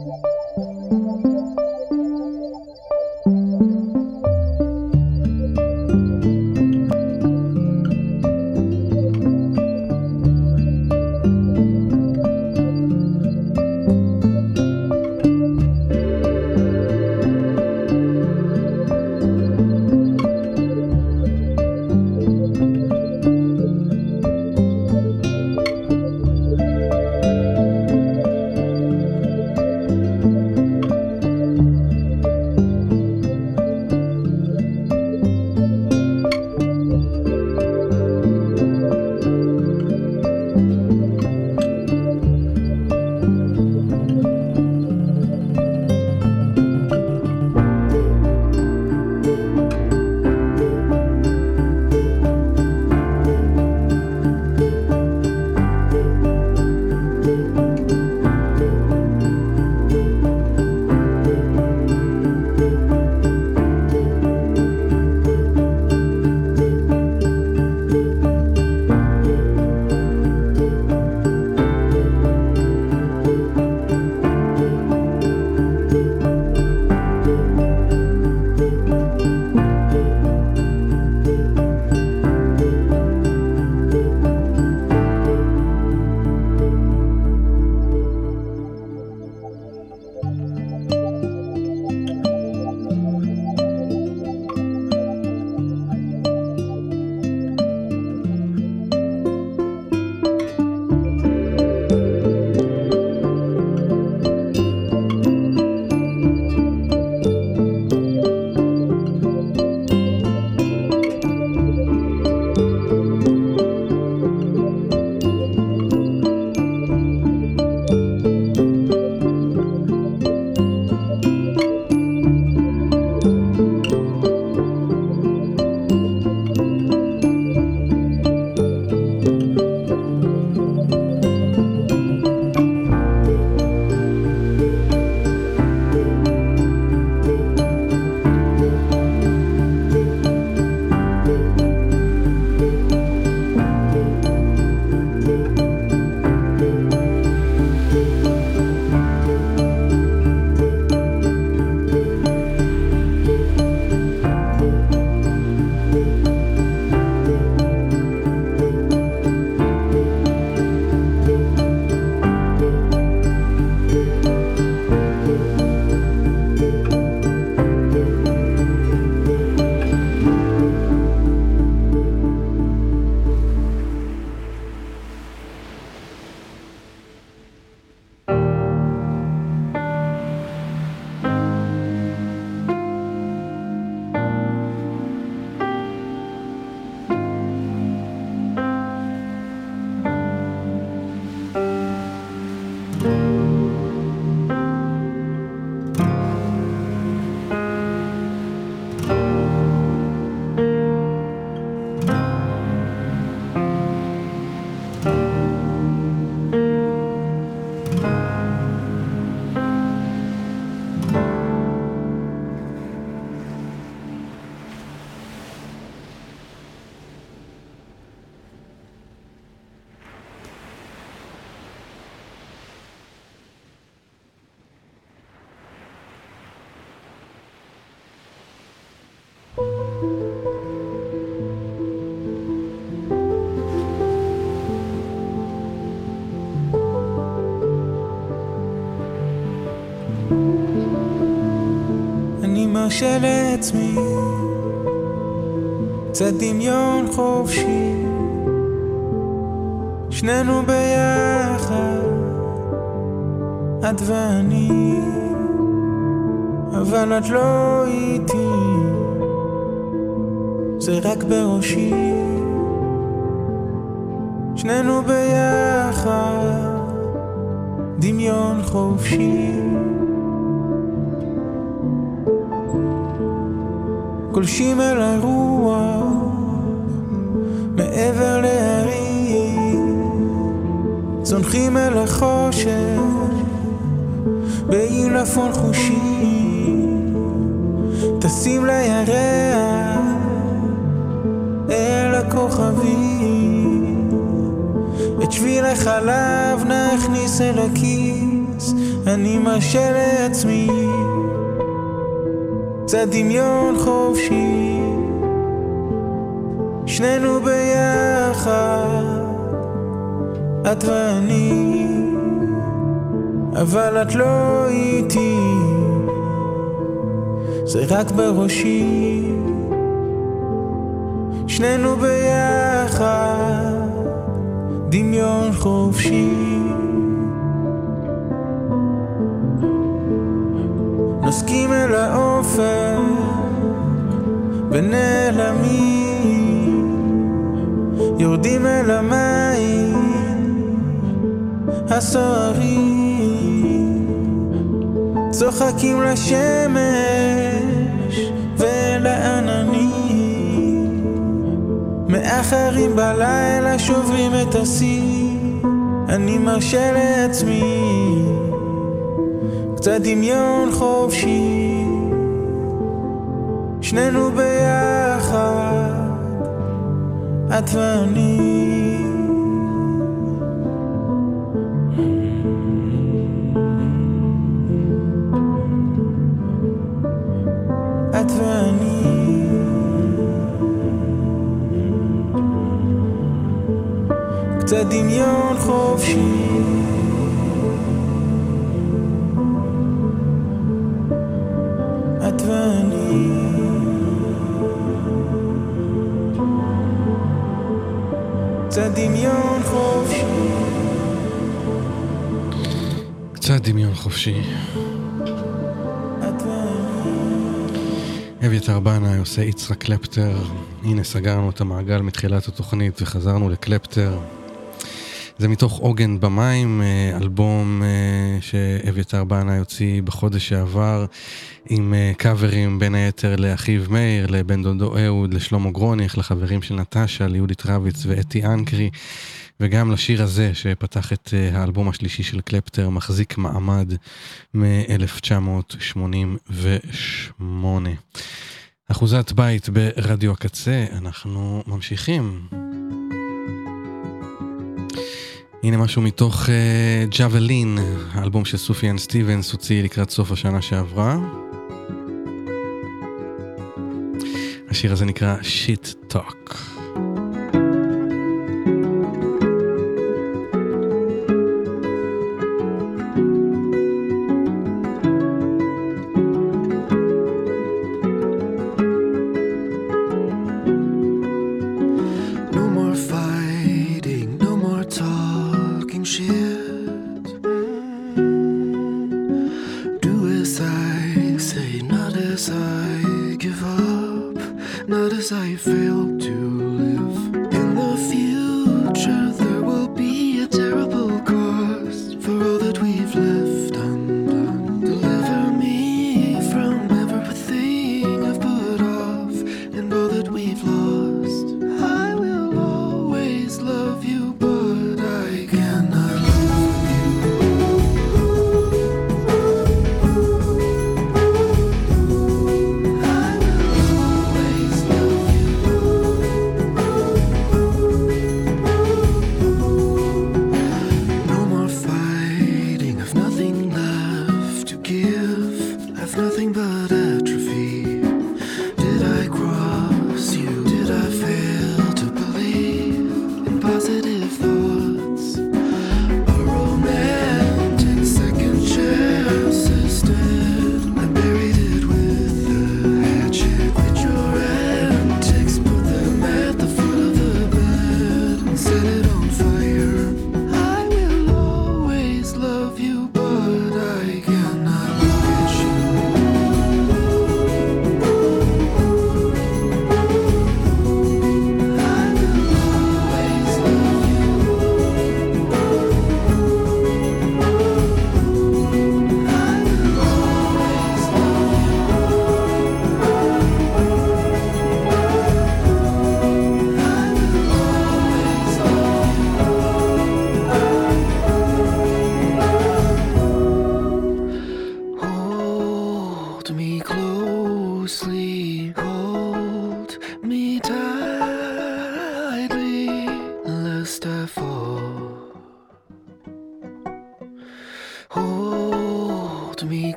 מרשה לעצמי קצת דמיון חופשי, שנינו ביחד, את ואני, אבל את לא איתי, זה רק בראשי, שנינו ביחד, דמיון חופשי, גולשים אל הרוח מעבר להרים, צונחים אל החושך בעילפון חושי, טסים לירח אל הכוכבים, מלך עליו נכניס אל הכיס, אני מרשה לעצמי קצת דמיון חופשי, שנינו ביחד, את ואני, אבל את לא איתי, זה רק בראשי, שנינו ביחד, דמיון חופשי. נוסקים אל האופק ונעלמים, יורדים אל המים הסוערים, צוחקים לשמש ולעננים, מאחרים בלילה שוברים את השיא, אני מרשה לעצמי קצת דמיון חופשי, שנינו ביחד, את ואני. את ואני. קצת דמיון חופשי, את ואני. קצת דמיון חופשי, קצת דמיון חופשי. את ואני. אביתר בנאי עושה יצחק קלפטר. הנה סגרנו את המעגל מתחילת התוכנית וחזרנו לקלפטר. זה מתוך עוגן במים, אלבום שאביתר בנאי הוציא בחודש שעבר, עם קאברים בין היתר לאחיו מאיר, לבן דודו אהוד, לשלמה גרוניך, לחברים של נטשה, ליהודית רביץ ואתי אנקרי, וגם לשיר הזה שפתח את האלבום השלישי של קלפטר, מחזיק מעמד מ-אלף תשע מאות שמונים ושמונה. אחוזת בית ברדיו הקצה, אנחנו ממשיכים. הנה משהו מתוך uh, ג'אבלין, האלבום של סופיאן סטיבנס הוציא לקראת סוף השנה שעברה. השיר הזה נקרא Shit Talk. Not as I failed to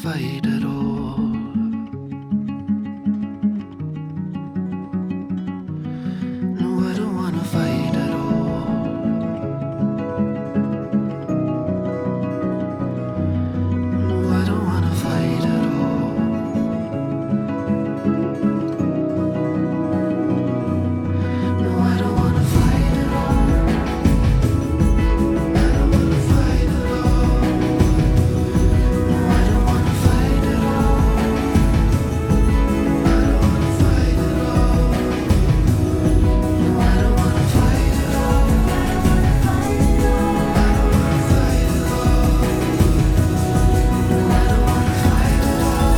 fight at all. No, I don't wanna fight at all. No, I don't wanna fight at all. No, I don't wanna fight at all. I don't wanna fight at all. No, I don't wanna fight at all. I don't wanna fight at all. No, I don't wanna fight at all. I don't wanna fight at all. No, I don't wanna fight at all.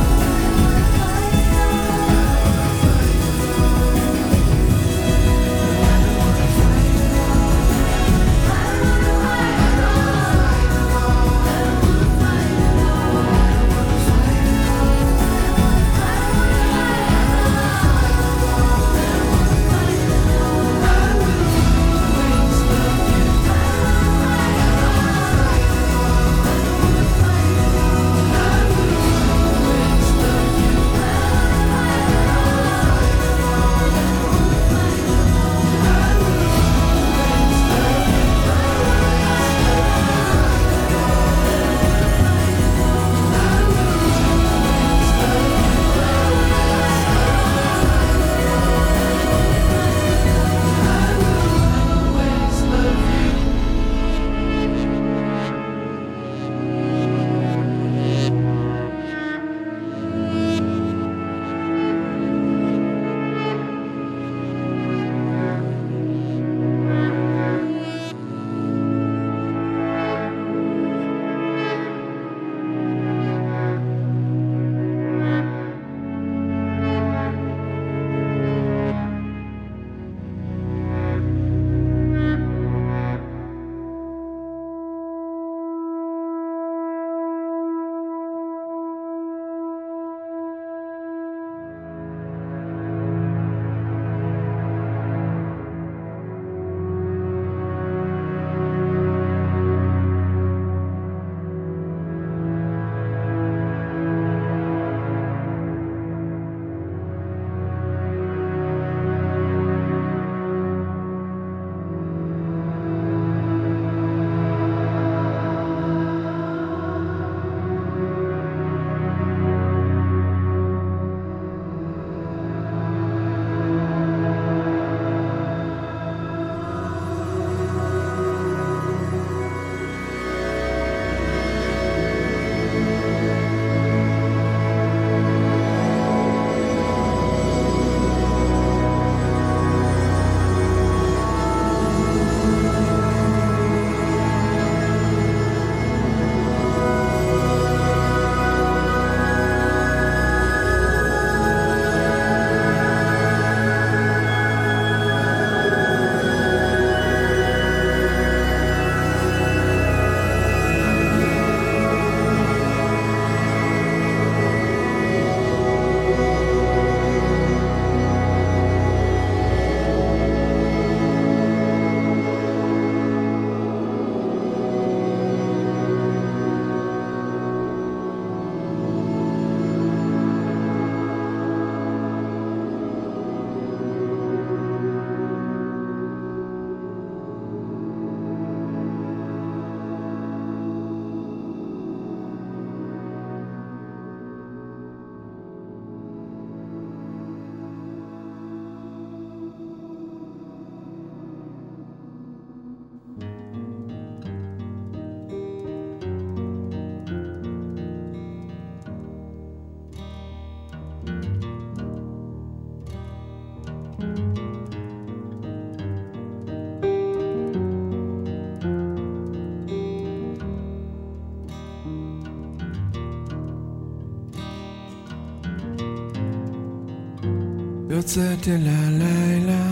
יוצאת אל הלילה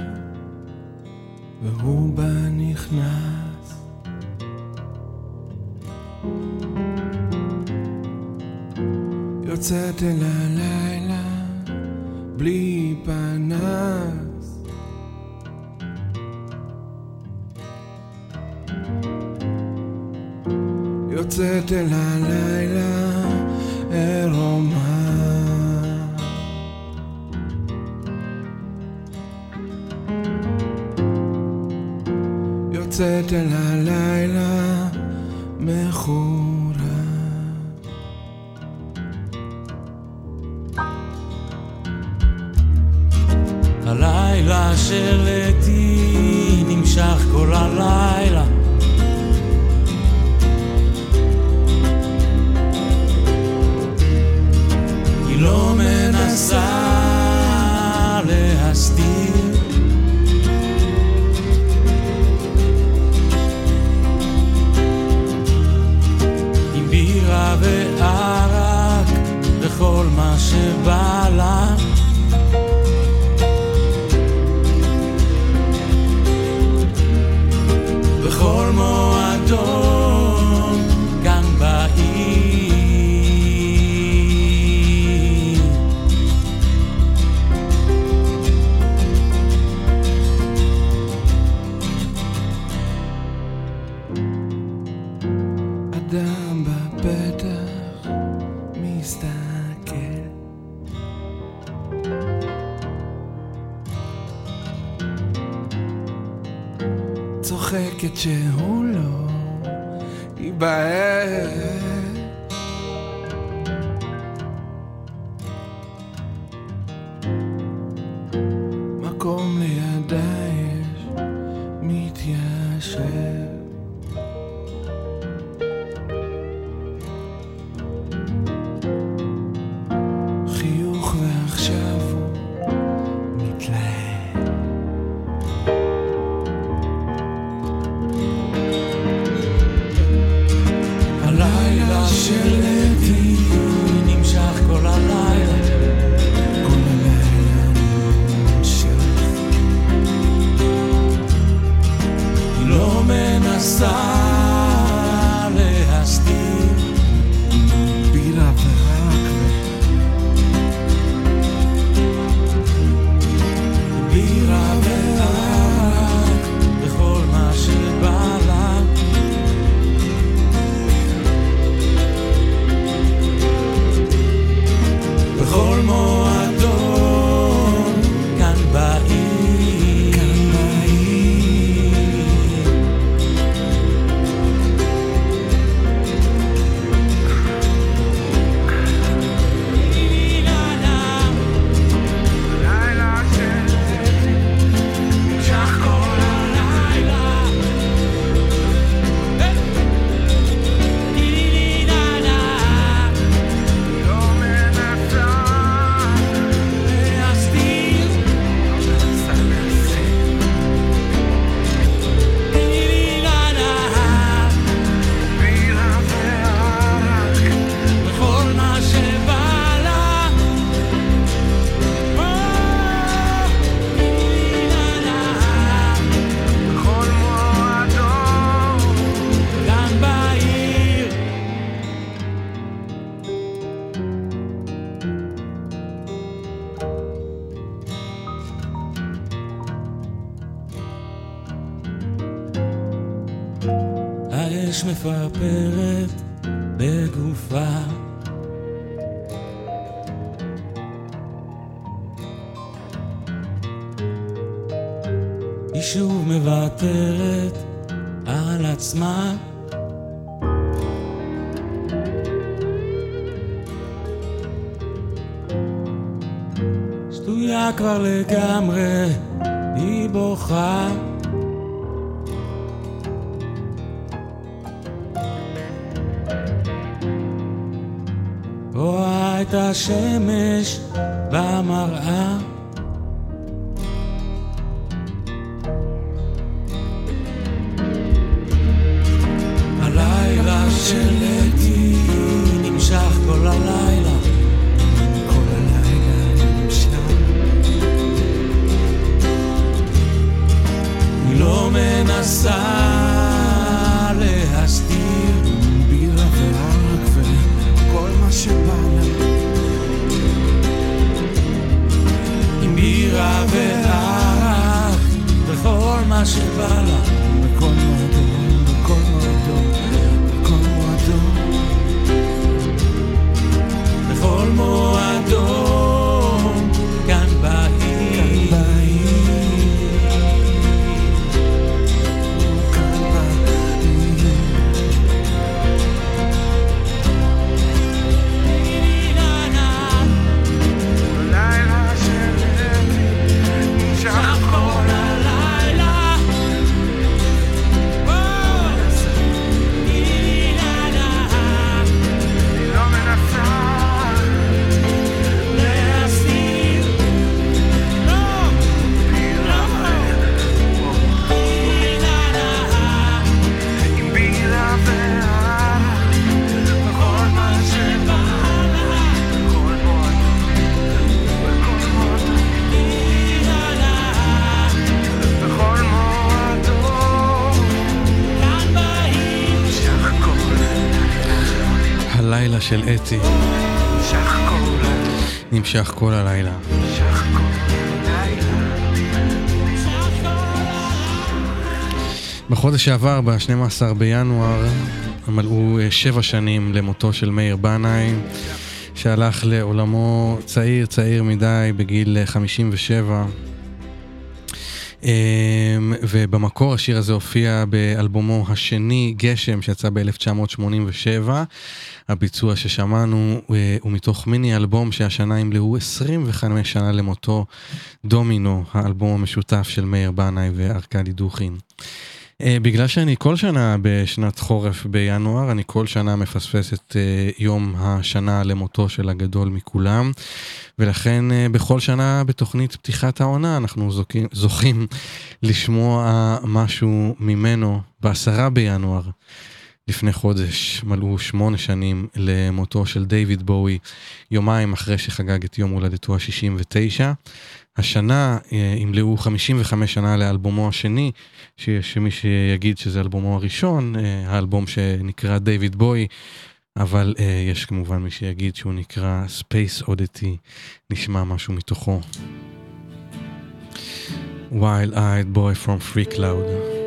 והוא בה נכנס, יוצאת אל הלילה בלי פנס, יוצאת אל הלילה על הלילה מחורה. הלילה שלתי נמשך כל הלילה, היא לא מנסה להסתיר, עם בירה וערק וכל מה שבא לה, בכל מועדון כאן בעיר. אדם בפתח מסתכל, צוחקת שהוא לא ייבהל, מקום לידה יש מתיישב, חיוך ועכשיו הוא מתלהב. הלילה שלתי נמשך כל הלילה, כל הלילה נמשך, היא לא מנסה להסתיר, בירה ורק בירה ורק וכל מה שבא לה, בכל מועדון כאן בעיר, כאן בעיר. לילה שלתי נמשך כל הלילה, לא מנסה להסתיר, בירה וערק וכל מה שבא לה, בכל מועדון כאן בעיר. האש מפרפרת בגופה, היא שוב מוותרת על עצמה, שטויה כבר לגמרי, היא בוכה, רואה את השמש במראה, הלילה שלתי נמשך כל הלילה, כל הלילה נמשך, היא לא מנסה להסתיר, בירה וערק וכל מה שבא לה, עם בירה וערק וכל מה שבא לה, בכל מועדון, בכל מועדון, בכל מועדון, בכל מועדון כאן בעיר, כאן בעיר, כאן בעיר. הלילה של אתי. נמשך כל הלילה. בחודש שעבר, ב-שנים עשר בינואר, מלאו שבע שנים למותו של מאיר בנאי, שהלך לעולמו צעיר, צעיר מדי, בגיל חמישים ושבע. ובמקור השיר הזה הופיע באלבומו השני, גשם, שיצא ב-אלף תשע מאות שמונים ושבע. הביצוע ששמענו הוא מתוך מיני אלבום שהשנה ימלאו עשרים וחמש שנה למותו, דומינו, האלבום המשותף של מאיר בנאי וארקדי דוכין. בגלל שאני כל שנה בשנת חורף בינואר, אני כל שנה מפספס את יום השנה למותו של הגדול מכולם, ולכן בכל שנה בתוכנית פתיחת העונה אנחנו זוכים, זוכים לשמוע משהו ממנו. בעשרה בינואר לפני חודש מלאו שמונה שנים למותו של דיוויד בואי, יומיים אחרי שחגג את יום הולדתו ה-שישים ותשע. השנה ימלאו חמישים וחמש שנה לאלבומו השני, שיש מי שיגיד שזה אלבומו הראשון, האלבום שנקרא דיוויד בואי, אבל יש כמובן מי שיגיד שהוא נקרא Space Oddity. נשמע משהו מתוכו. Wild Eyed Boy from Free Cloud.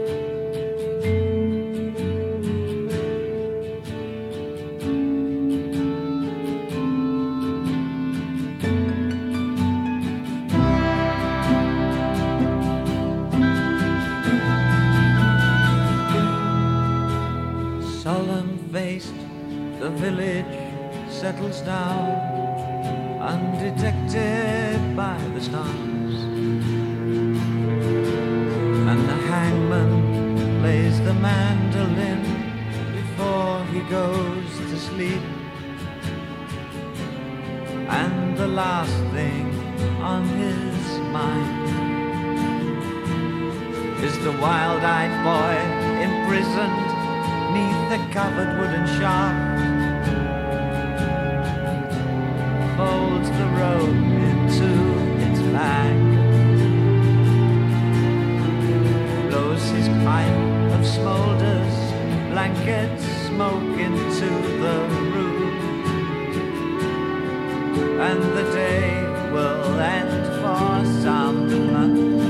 Settles down, undetected by the stars, and the hangman plays the mandolin before he goes to sleep. And the last thing on his mind is the wild-eyed boy imprisoned neath the covered wooden shaft, folds the robe into its bag, blows his pipe of smolders, blankets smoke into the room, and the day will end for someone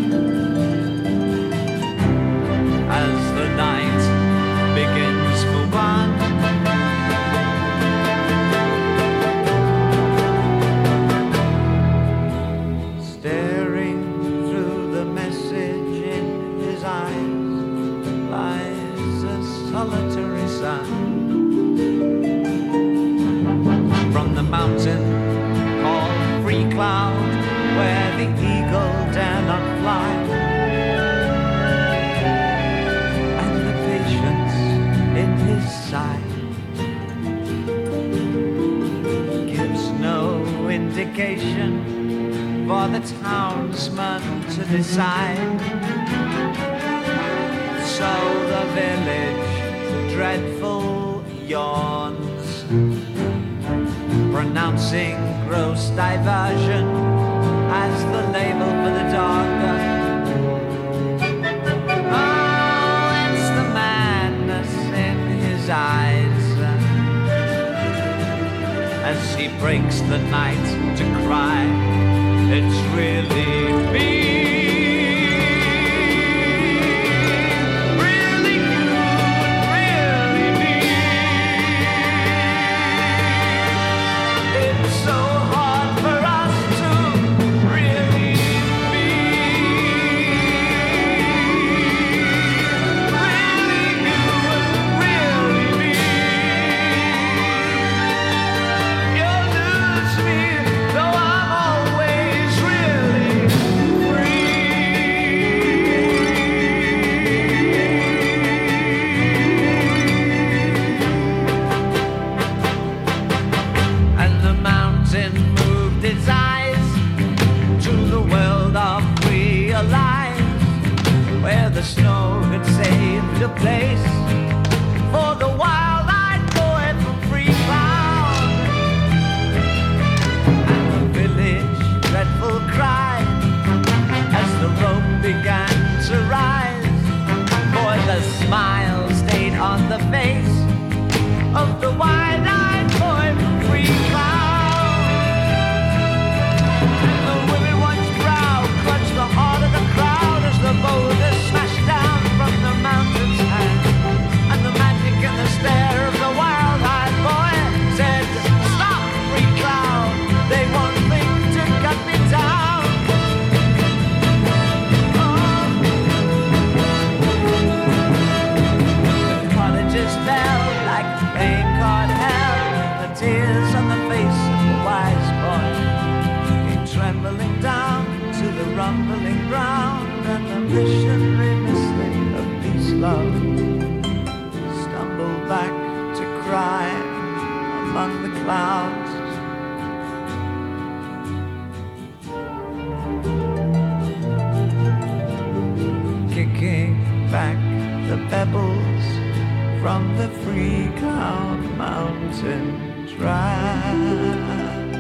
as the night begins for one. Solitary sun from the mountain called Free Cloud, where the eagle dare not fly, and the patience in his sight gives no indication for the townsman to decide. So the village dreadful yawns, pronouncing gross diversion as the label for the dog. Oh, it's the madness in his eyes as he breaks the night to cry, it's really me. You'll lose me, though I'm always really back the pebbles from the Free Cloud Mountain Drive.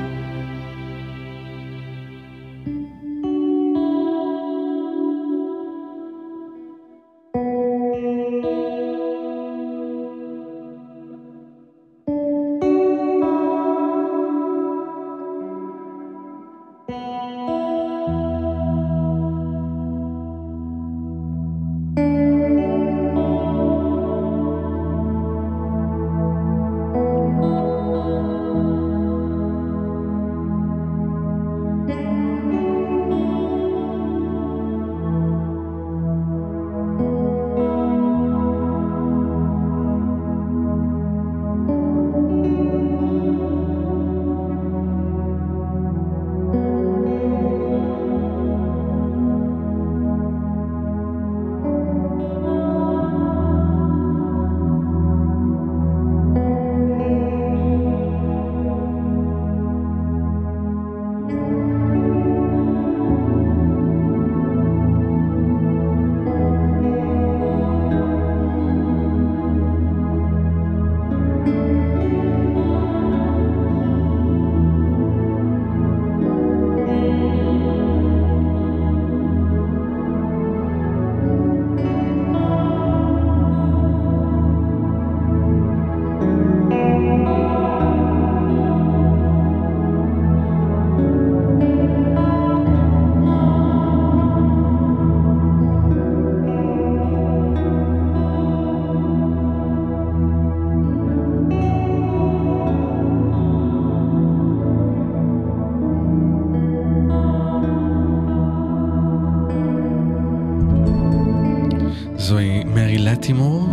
זוהי מרי לטימור,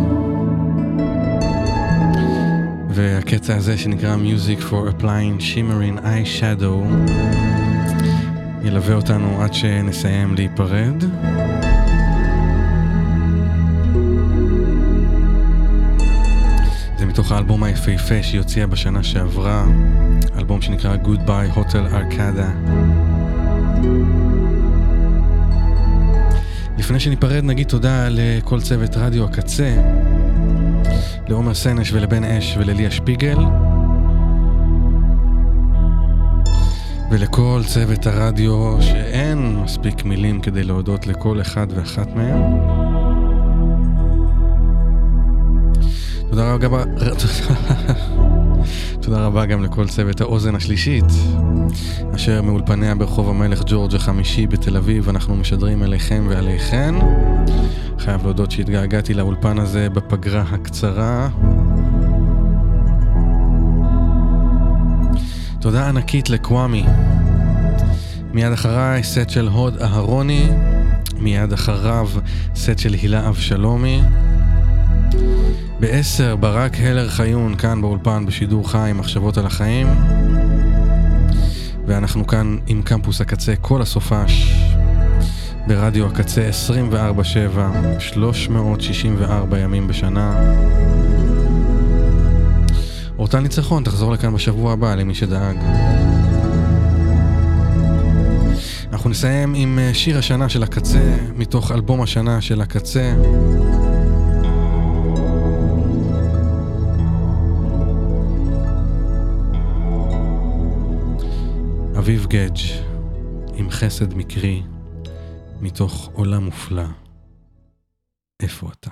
והקטע הזה שנקרא Music for Applying Shimmering Eyeshadow ילווה אותנו עד שנסיים להיפרד. זה מתוך האלבום היפהפה שהיא הוציאה בשנה שעברה, אלבום שנקרא Goodbye Hotel Arcada. לפני שניפרד נגיד תודה לכל צוות רדיו הקצה, לעומר סנש ולבן אש ולליה שפיגל, ולכל צוות הרדיו שאין מספיק מילים כדי להודות לכל אחד ואחת מהם. תודה רבה, תודה רבה גם לכל צוות האוזן השלישית, אשר מאולפניה ברחוב המלך ג'ורג' החמישי בתל אביב. אנחנו משדרים אליכם ועליכן. חייב להודות שהתגעגעתי לאולפן הזה בפגרה הקצרה. תודה ענקית לקוואמי. מיד אחריי סט של הוד אהרוני, מיד אחריו סט של הילה אבשלומי. בעשר ברק הלר חיון כאן באולפן בשידור חי מחשבות על החיים, ואנחנו כאן עם קמפוס הקצה כל הסופש ברדיו הקצה עשרים וארבע שבע, שלוש מאות שישים וארבע ימים בשנה. אורטל ניצחון תחזור לכאן בשבוע הבא למי שדאג. אנחנו נסיים עם שיר השנה של הקצה מתוך אלבום השנה של הקצה, אביב גדג' עם חסד מקרי מתוך עולם מופלא. איפה אתה?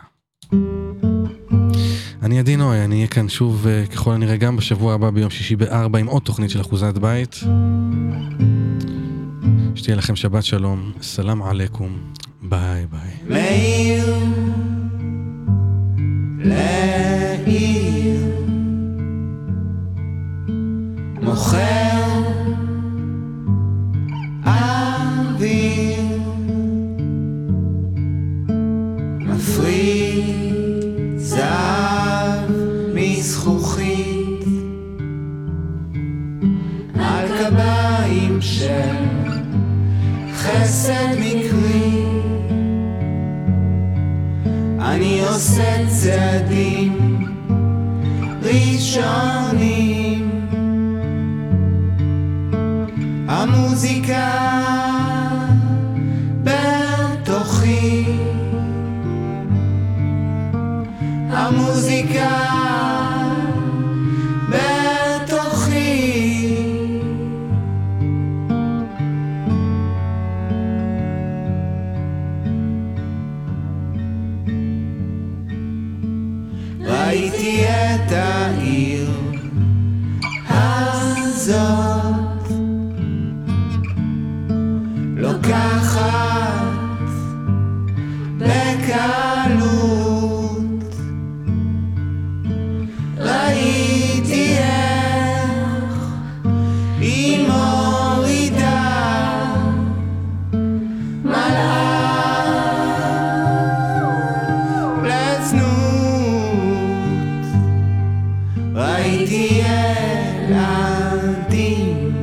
אני עדינוי, אני אהיה כאן שוב ככל הנראה גם בשבוע הבא ביום שישי בארבע עם עוד תוכנית של אחוזת בית. שתהיה לכם שבת שלום, סלام עליכום, ביי ביי. מאיר לעיר מוכר אוויר מפריד זהב מזכוכית על קביים של חסד מקרי אני עושה צעדים ראשונים המוזיקה בתוכי הזאת לוקחת בקלות, ראיתי איך היא מורידה מלאה לצנות, ראיתי ילדים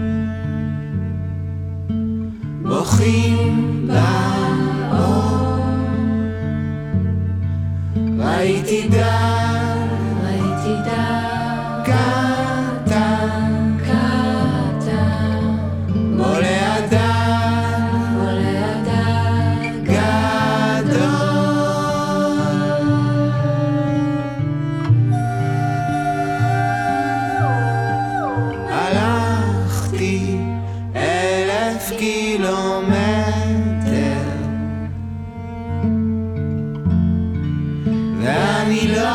בוכים באור, ראיתי דם, ראיתי דם קטן, קטן, בולע דם, בולע דם גדול. הלכתי אלף קילומטר ואני לא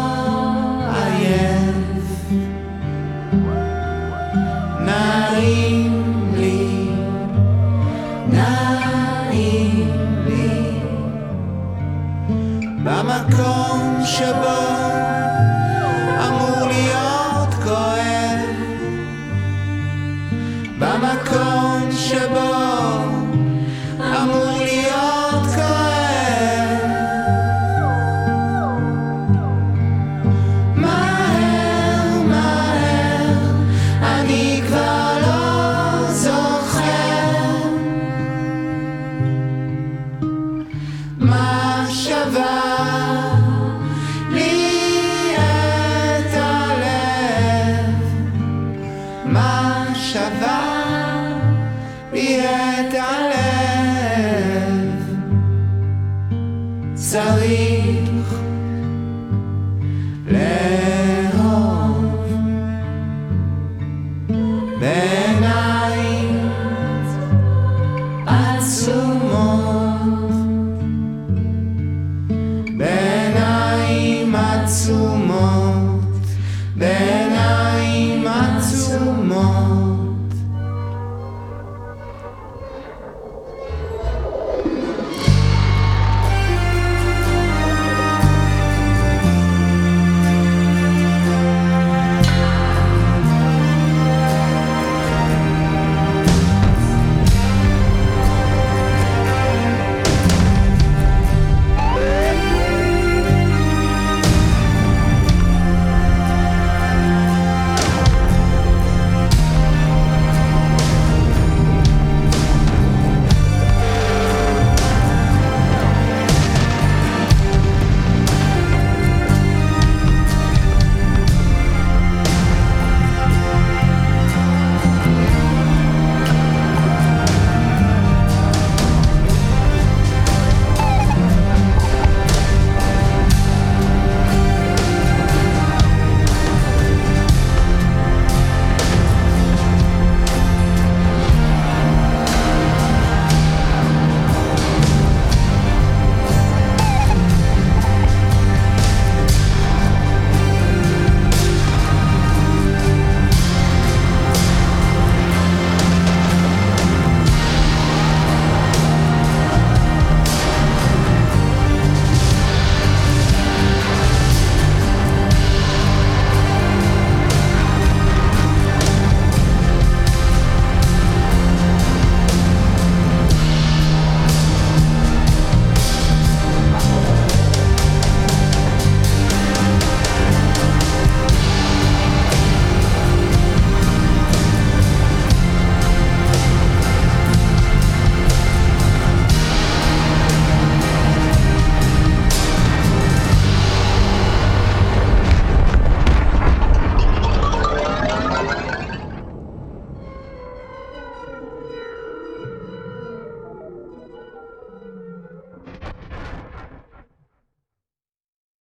עייף, נעים לי, נעים לי במקום שבו אמור להיות כואב, במקום שבו אמור להיות כואב. מהר מהר אני כבר לא זוכר מה שווה לי את הלב, מה שווה לי את הלב. צריך לאהוב בעיניים עצומות, בעיניים עצומות, בעיניים עצומות.